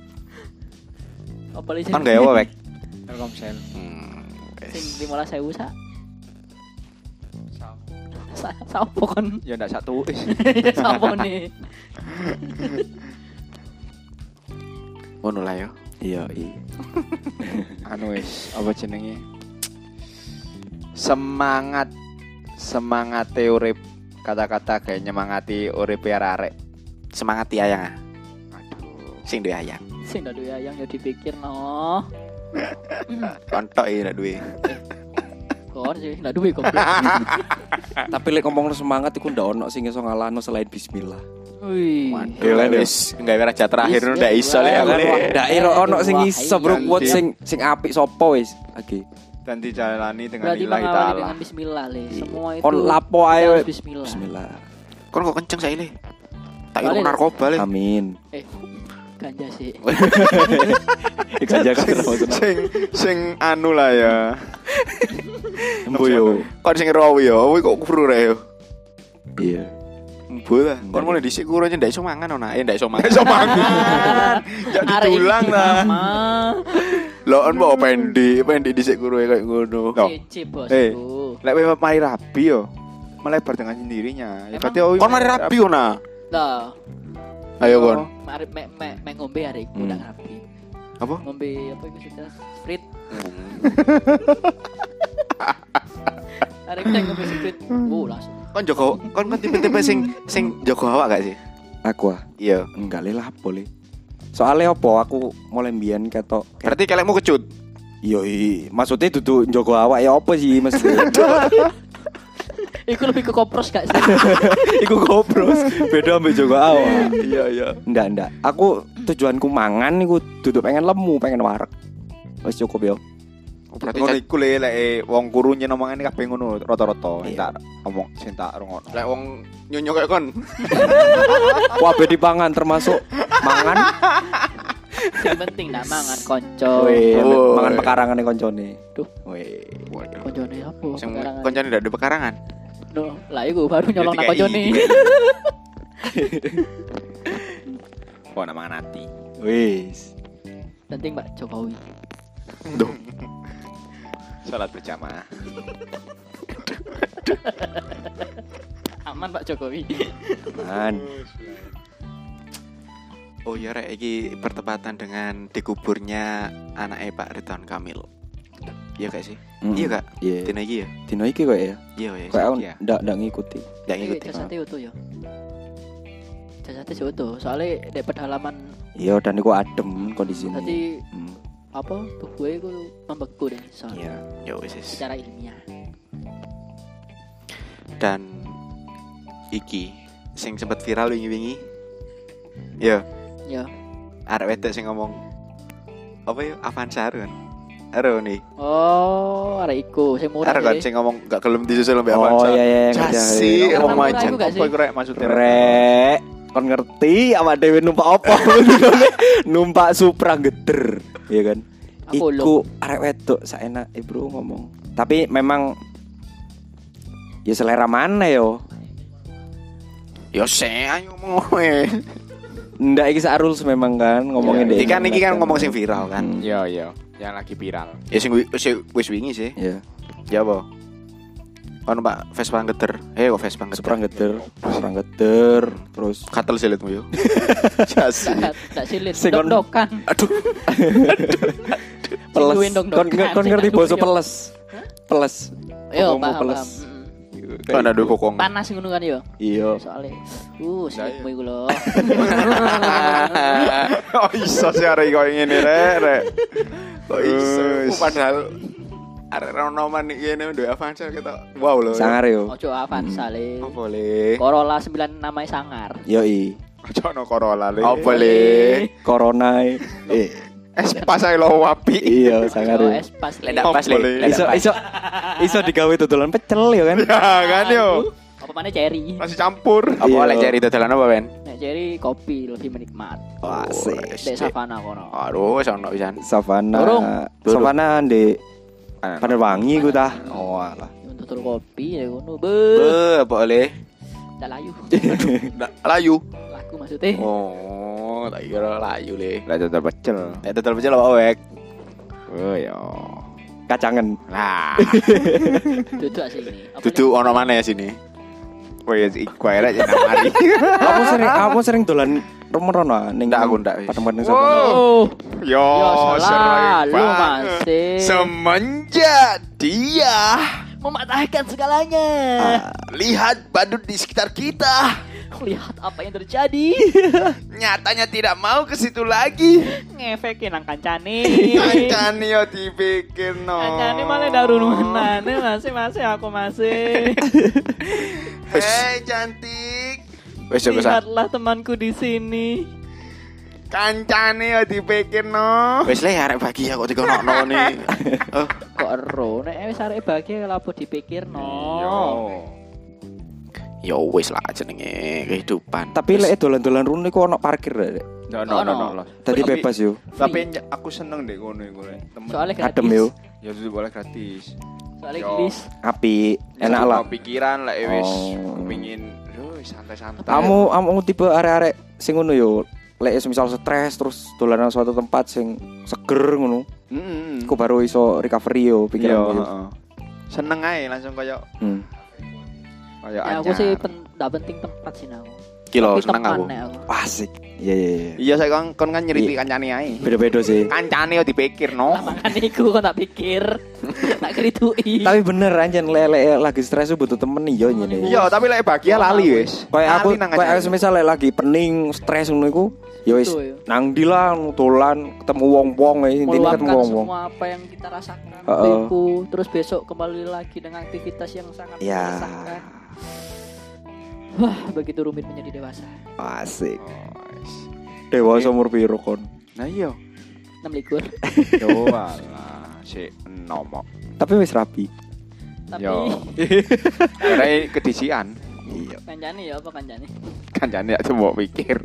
Apa lagi? Kan gak apa, Bek? Telkomsel. Hmm. Sing wes. lima belas ribu sak. Sa sapa kon? Ya ndak satu wis. Sapa nih? Ngono lah yo. Iya, iya. Anu wis, apa jenenge? Semangat semangat urip kata-kata kayak nyemangati urip arek. Semangat ya ayang ah. Aduh. Sing duwe ayang. Sing ndak duwe ayang ya dipikir no. Kontok iki ndak duwe. Kon sih ndak duwe kok. Tapi lek ngomong semangat iku ndak ono sing iso ngalahno selain bismillah. Wih. Waduh, wis enggak raja terakhir Wis, ndak iso lek aku wah, lek. wah. Ndak iro ono sing iso bro Ganti. kuat sing sing apik sapa wis. Oke. Dan dijalani dengan Berarti lillahi mengawali taala. dengan bismillah le. Semua itu. Kon lapo ae. harus we. Bismillah. Bismillah. Kon kok kenceng saiki le. Tak Balik, kira narkoba le. Amin. Eh, ganja sih. Ganja kan maksudnya. Sing sing anu lah ya. Embo yo. Kon sing rawi yo, kuwi kok kuru rek yo. Iya. Embo lah. Kon mulai dhisik kuru aja ndak iso mangan ona. Eh ndak iso mangan. Iso mangan. Jadi Arek iki tulang lah. mama. Lho on mau pendek, pendek dhisik kuru kayak ngono. Loh. Cici bos. Eh. Lek wewe mari rabi yo. Melebar dengan sendirinya. Ya Emang? berarti oh, Kon mari rapi ona. Lah, Ayo kon. mari me me me ngombe hari iku Hmm. udah rapi. Apa? Ngombe apa itu sudah sprit. Hari kita ngombe sprit. Oh, langsung. Kon Joko, kon kan tipe-tipe sing sing Joko awak gak sih? Aku ah Iya. enggak le lapo le. Soalnya apa aku mulai mbiyen ketok Berarti kelekmu kecut. Yo i, maksudnya dudu njogo awak ya apa sih maksudnya? Iku lebih ke kopros gak sih? Iku gopros, beda ambek njogo awak. Iya iya. Ndak ndak. Aku tujuanku mangan iku dudu pengen lemu, pengen wareg. Wis cukup yo. Berarti ngono cat- iku le lek wong kuru nyen omongane kabeh ngono rata-rata. Iya. Tak omong sing tak rungokno. lek wong nyonyo kayak kon. Kabeh dipangan termasuk mangan. Yang penting nak mangan konco. Weh, Oh. mangan pekarangane koncone. Duh. Weh. Koncone apa? Sing Pekarangan. koncone ndak ada pekarangan. No, lah iku baru nyolong nak Dikai. koncone. Kok nak mangan ati. Wis. Penting Mbak Jokowi. Duh. Salat berjamaah. Aman Pak Jokowi. Man. Oh iya rek iki bertepatan dengan dikuburnya anaknya Pak Ridwan Kamil. Iya gak sih? Mm. Iya kak. Iya. Dina iki ya. Dino iki kok ya. Iya ya. Kok aku ya. ndak ndak ngikuti. Ndak Eh, ngikuti. jasate utuh ya. Jasate sih utuh. Soalnya di pedalaman Iya dan iku adem kondisine. tadi Hmm. apa tubuhnya itu membeku deh soalnya Iya. Ya wis. wis. secara ilmiah. Dan iki sing sempat viral wingi-wingi. Ya, Ya. arek wedok sing ngomong apa ya Avanza kan. Ero nih. Oh, arek iku sing murah. Arek kan deh. sing ngomong gak gelem disusul mbek Oh Avanza. iya iya ngerti, Jasi, ngerti. wong Yang murah macan. iku gak sih? Apa iku rek maksudnya? Rek, kon ngerti awak dhewe numpak apa? Numpak Supra geder, iya kan? Apollo. Iku arek wedok saenak e bro ngomong. Tapi memang ya selera mana yo? Yo sing ayo ngomong kowe. Ndak iki sak rules memang kan ngomongin Iya, deh. Iki kan iki kan ngomong sing viral kan. Hmm. Iya iya, yang lagi viral. Ya sing wi- sing wis wingi sih. Iya, Ya apa? Ono Pak Vespa geter. Eh kok Vespa geter. Supra geder, Supra geder, terus Katel silitmu yo. Jasi. Tak tak silit Sing kon- dok-dokan. Aduh. peles. duwe ndok-ndokan, Kon kon sing ngerti nang basa duwe. peles. Peles. Yo, Ngomong paham, peles. paham. Mm-mm. Kan ada kokong. Panas ngono kan yo. Iya. Soale uh sikmu iku lho. Oh iso sih arek koyo ngene rek rek. Kok iso? Wis. Padahal arek ronoman iki ngene duwe Avanza kita. Wow lho. Sangar yo. Ojo Avanza le. Oh, boleh. Corolla sembilan namanya sangar. Yoi. Aja ono Corolla le. Oh, boleh. Corona. Eh. Es pas ae lo wapi. Iya, sangar Ojo yo. es pas le. Lendak pas le. Boleh. Lendak Iso pas. iso iso digawe dodolan pecel ya kan. Ya kan yo. Apa mana cherry? Masih campur. Apa Iya. oleh cari dodolan apa, Ben? Nek cherry kopi lebih menikmat. Wah, asik. Dek savana kono. Aduh, sono pisan. Savana. Durung. Durung. Savana di Panerwangi ku tah. Oh alah. Untuk tur kopi ya ngono. Be. Be, apa oleh? Dak layu. Ndak layu. Lagu maksudnya. Oh, tak kira layu le. Lah dodol pecel. Eh, dodol pecel apa wek? Oh yo. Kacangen. Lah. Duduk sih ini. Apa Dudu ono maneh sini. Kowe iku ae rek jeneng mari. Kamu sering kamu sering dolan romerono ning Ndak, aku ndak, wis. Patemon ning Wow. Savana. Oh, Yo, ya selalu banget. masih Semenjak dia mematahkan segalanya. lihat badut di sekitar kita, Lihat apa yang terjadi. nyatanya tidak mau ke situ lagi. Ngefekin nang kancane. Kancane yo dipikir no. Kancane malah darununane masih masih aku masih. Hei cantik. Wes yo kesan. Lihatlah temanku di sini. Kancane yo dipikir no. Wes le arek bagi ya kok dikonokno nih. Oh, Kok ero nek wis arek bahagia lapo dipikir no. Yo. ya wes lah jenenge kehidupan. Tapi lek dolan-dolan rune ku ono parkir rek. No no no no. Tadi Tapi- bebas yo. Tapi ny- aku seneng deh ngono iku. Temen. Soalnya gratis. Adem yo. Ya itu boleh gratis. Soalnya Yo. gelis. Api, enak lah. Mau pikiran lah wis Oh. kepengin yo santai-santai. Kamu kamu tipe arek-arek sing ngono yo. Lek misal stres terus dolan nang suatu tempat sing seger ngono. Heeh. Ku baru iso recovery yo Yo, pikiranmu yo. heeh. Seneng ae langsung koyo Hmm. koyo Ya aku sih pen, gak penting tempat sih aku. Kilo Tapi seneng aku. teman, nek aku. Asik. Iya iya iya. Iya saya kon kon kan nyeriti Iya. kancane ae. Beda-beda sih. Kancane yo dipikir no. Lah makane iku kok tak pikir. Tak kritui. Tapi bener anjen lek lagi stres tuh butuh temen yo ngene. Iya, tapi lek bahagia lali wis. Kayak aku Lali nang kayak kancane. misal lek lagi pening stres ngono iku ya wis Betul, ya. nang ndi lah dolan ketemu wong-wong ya intine ketemu meluapkan wong-wong. semua apa yang kita rasakan Heeh. itu terus besok kembali lagi dengan aktivitas yang sangat Ya. meresahkan. Wah, begitu rumit menjadi dewasa. Asik. Oh, wis. Dewasa umur piro kon? Nah iya. enam likur. Yo alah, sik enom. Tapi wis rapi. Tapi Yo. Karena kedisian. Iya. kancane ya apa kancane? Kancane gak coba pikir.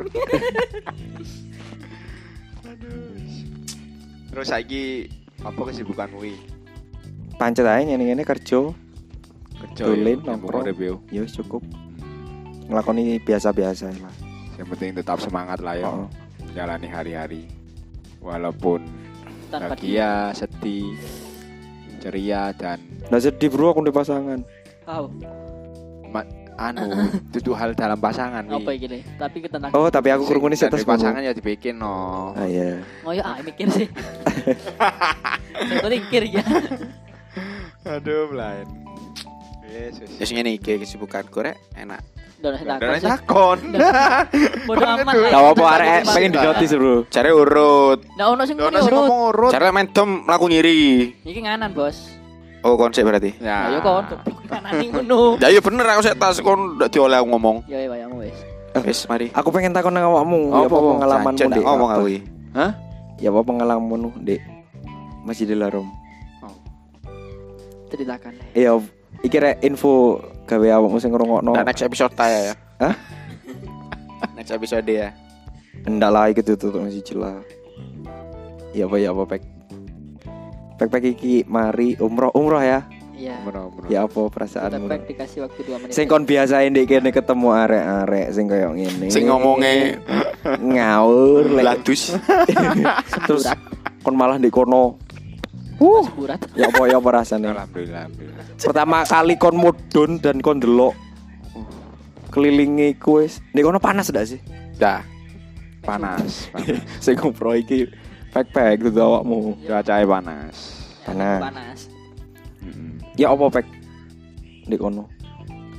Terus saiki apa kesibukan kuwi? Pancet ae ngene-ngene kerja. Kerja Dolen, ya, nongkrong. urip yo. Ya wis cukup. Nglakoni biasa-biasa lah. Yang penting tetap semangat lah ya. Heeh. Jalani hari-hari. Walaupun Tanpa bahagia, sedih, ceria dan Nggak sedih bro aku di pasangan. tahu ma- anu itu hal dalam pasangan wi. apa iki le? Tapi tentang Oh, tapi aku krungune sik Dari terus pasangan ya dibikin no. Ah iya. ngoyo ah mikir sih. Saya mikir ya. Aduh, lain. Yesus. Ya sing ngene iki kesibukanku rek enak. Udah Dan takon sih. takon. Bodoh amat. Le. Gak apa-apa Tempat arek tempat. pengen dinotis bro. Cari urut. Nggak ono sing Ono ngene sing urut. ngomong urut. Cari main dom mlaku ngiri. Iki nganan, Bos. Oh, konsep berarti. Ya Ya. yo kon goblok kanan ning ngono. Ya iya bener aku sik tas kon ndak dioleh aku ngomong. Ya ya wayamu wis. Wis mari. Aku pengen takon nang awakmu, ya apa pengalamanmu Jancen, Dek? ngomong Apa? aku iki. Hah? Ya apa pengalamanmu Dek? Masjidil Haram. Ceritakan. Le. Iya, iki rek info gawe awakmu sing ngrungokno. Nah, next episode ya. Hah? Next episode ya. Ndak lah iki tutup masih jelas. Ya apa ya apa pek. Pek-pek iki mari umroh umroh ya. Iya. Bener, bener. Ya apa perasaanmu? Tepek dikasih waktu dua menit. Sing kon biasain ndek kene ketemu arek-arek sing koyo ngene. Sing ngomongnya ngawur lek. ladus. Terus kon malah ndek kono. uh burat. Ya apa ya apa rasane? Alhamdulillah, alhamdulillah. Pertama kali kon mudun dan kon delok kelilingi ku wis. Ndek kono panas ndak sih? Dah. Panas, panas. Sing ngompro iki pek-pek tuh awakmu. Cuacanya panas. Ya, Panas. panas. Mm-mm. Ya apa pek ndek kono?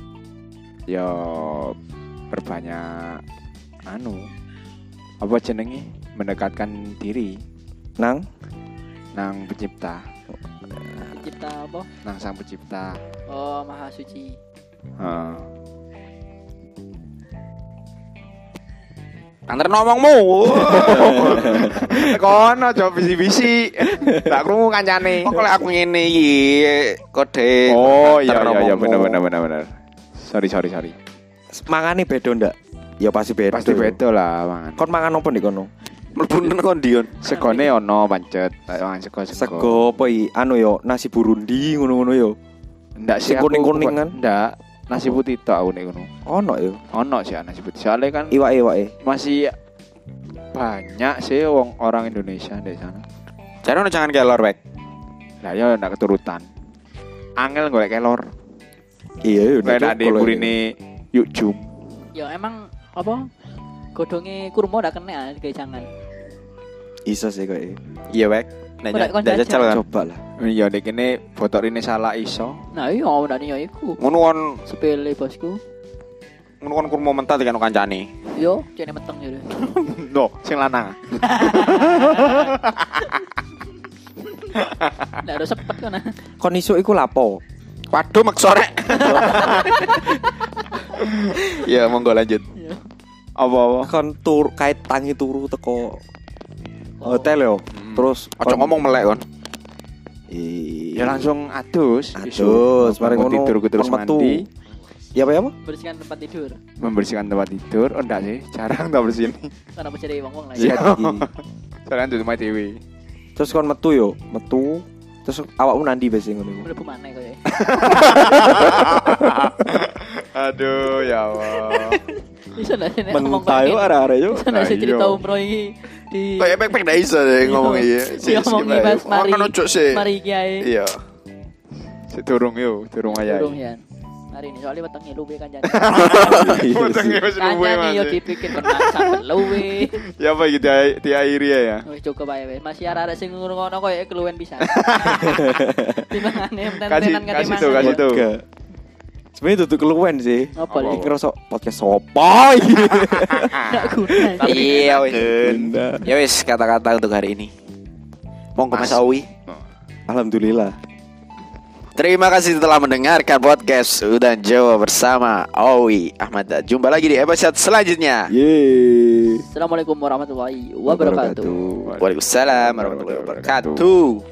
ya berbanyak anu apa jenenge mendekatkan diri Nang nang pencipta, Kita apa? nang sang pencipta. Oh, Maha Suci. Heeh. Antar ngomongmu. Kono aja bisi-bisi. Tak krungu kancane. Kok lek aku ngene iki kode. Oh iya antar iya iya ngomongmu. bener bener bener bener. Sorry sorry sorry. mangane beda ndak? Ya pasti beda. Pasti beda lah mangan. Kon mangan apa nih kono? Mlebu nang kondion. Segone ono pancet, tak mangan sego sego. Sego apa i? Anu yo nasi Burundi ngono-ngono yo. Ndak sih Sing aku- kuning-kuning kan? Ndak, nasi putih tok aku nek ngono. Ono yo. Ono sih nasi putih. Soalnya kan Iwake-iwake. masih banyak sih wong orang Indonesia di sana. Jare ono jangan kelor wek. Lah ya ndak keturutan. Angel golek kelor. Iya yo. Kayak nak di burine yuk jum. Ya emang apa? Godonge kurma udah kena kayak jangan. Iso sih kok. Iya wek. Nek Ora, kon ndak jajal kan. Coba lah. Iya nek kene fotorine salah iso. Nah iya udah nih ya iku. Ngono kon Sepele bosku. ngono kon kurma mentah tekan kancane. Yo, jane meteng yo. No, sing lanang. Ndak ada sepet kan. Kon iso iku lapo? Waduh mek sore. Ya monggo lanjut. Apa-apa? Kon tur kait tangi turu teko hotel yo. Terus Ojo ngomong melek kon. Ya langsung adus. Adus, mari Bangun ngono, tidur ku terus kon metu. mandi, Ya apa ya apa? Bersihkan tempat tidur. membersihkan tempat tidur. Oh enggak sih, jarang tak bersihin. Karena bisa dari wong-wong lah. Iya. Ya. Iki. Jarang tuh rumah dewe. Terus kon metu yo, metu. Terus awakmu nandi besi ngono iku. Mlebu maneh koyo. Aduh, ya Allah. Iso ndak sih nek ngomong Mentah yo arek-arek yo. Iso ndak sih Nah, cerita iya. umroh iki di Kayak pek-pek ndak iso deh ngomong iya. Iya, ngomongi pas mari. Kan ojo sih. Mari iki ae. Iya. Sik durung yo, durung ayah. Durung ya. Hari ini soalnya wetenge luwe kan jane. Wetenge wis luwe Kancane yo Mas. dipikir benar sampe luwe. Ya apa iki dia- diakhiri ya. Wis cukup ae wis. Masih arek-arek sing ngono koyo keluwen pisan. Timbangane Kasih enten-tenan kate kasih tuh, mangan. kasih tuh. Enggak. Sebenarnya tutup keluwen sih. Apa Apa? lagi? Iki ngerasa podcast sopo iki. Enggak guna. Iya wis. Genda. Ya wis kata-kata untuk hari ini. Monggo Mas Awi. Alhamdulillah. Terima kasih telah mendengarkan podcast Udan Jawa bersama Awi Ahmad. Jumpa lagi di episode selanjutnya. Yeay. Assalamualaikum warahmatullahi wabarakatuh. Waalaikumsalam warahmatullahi wabarakatuh.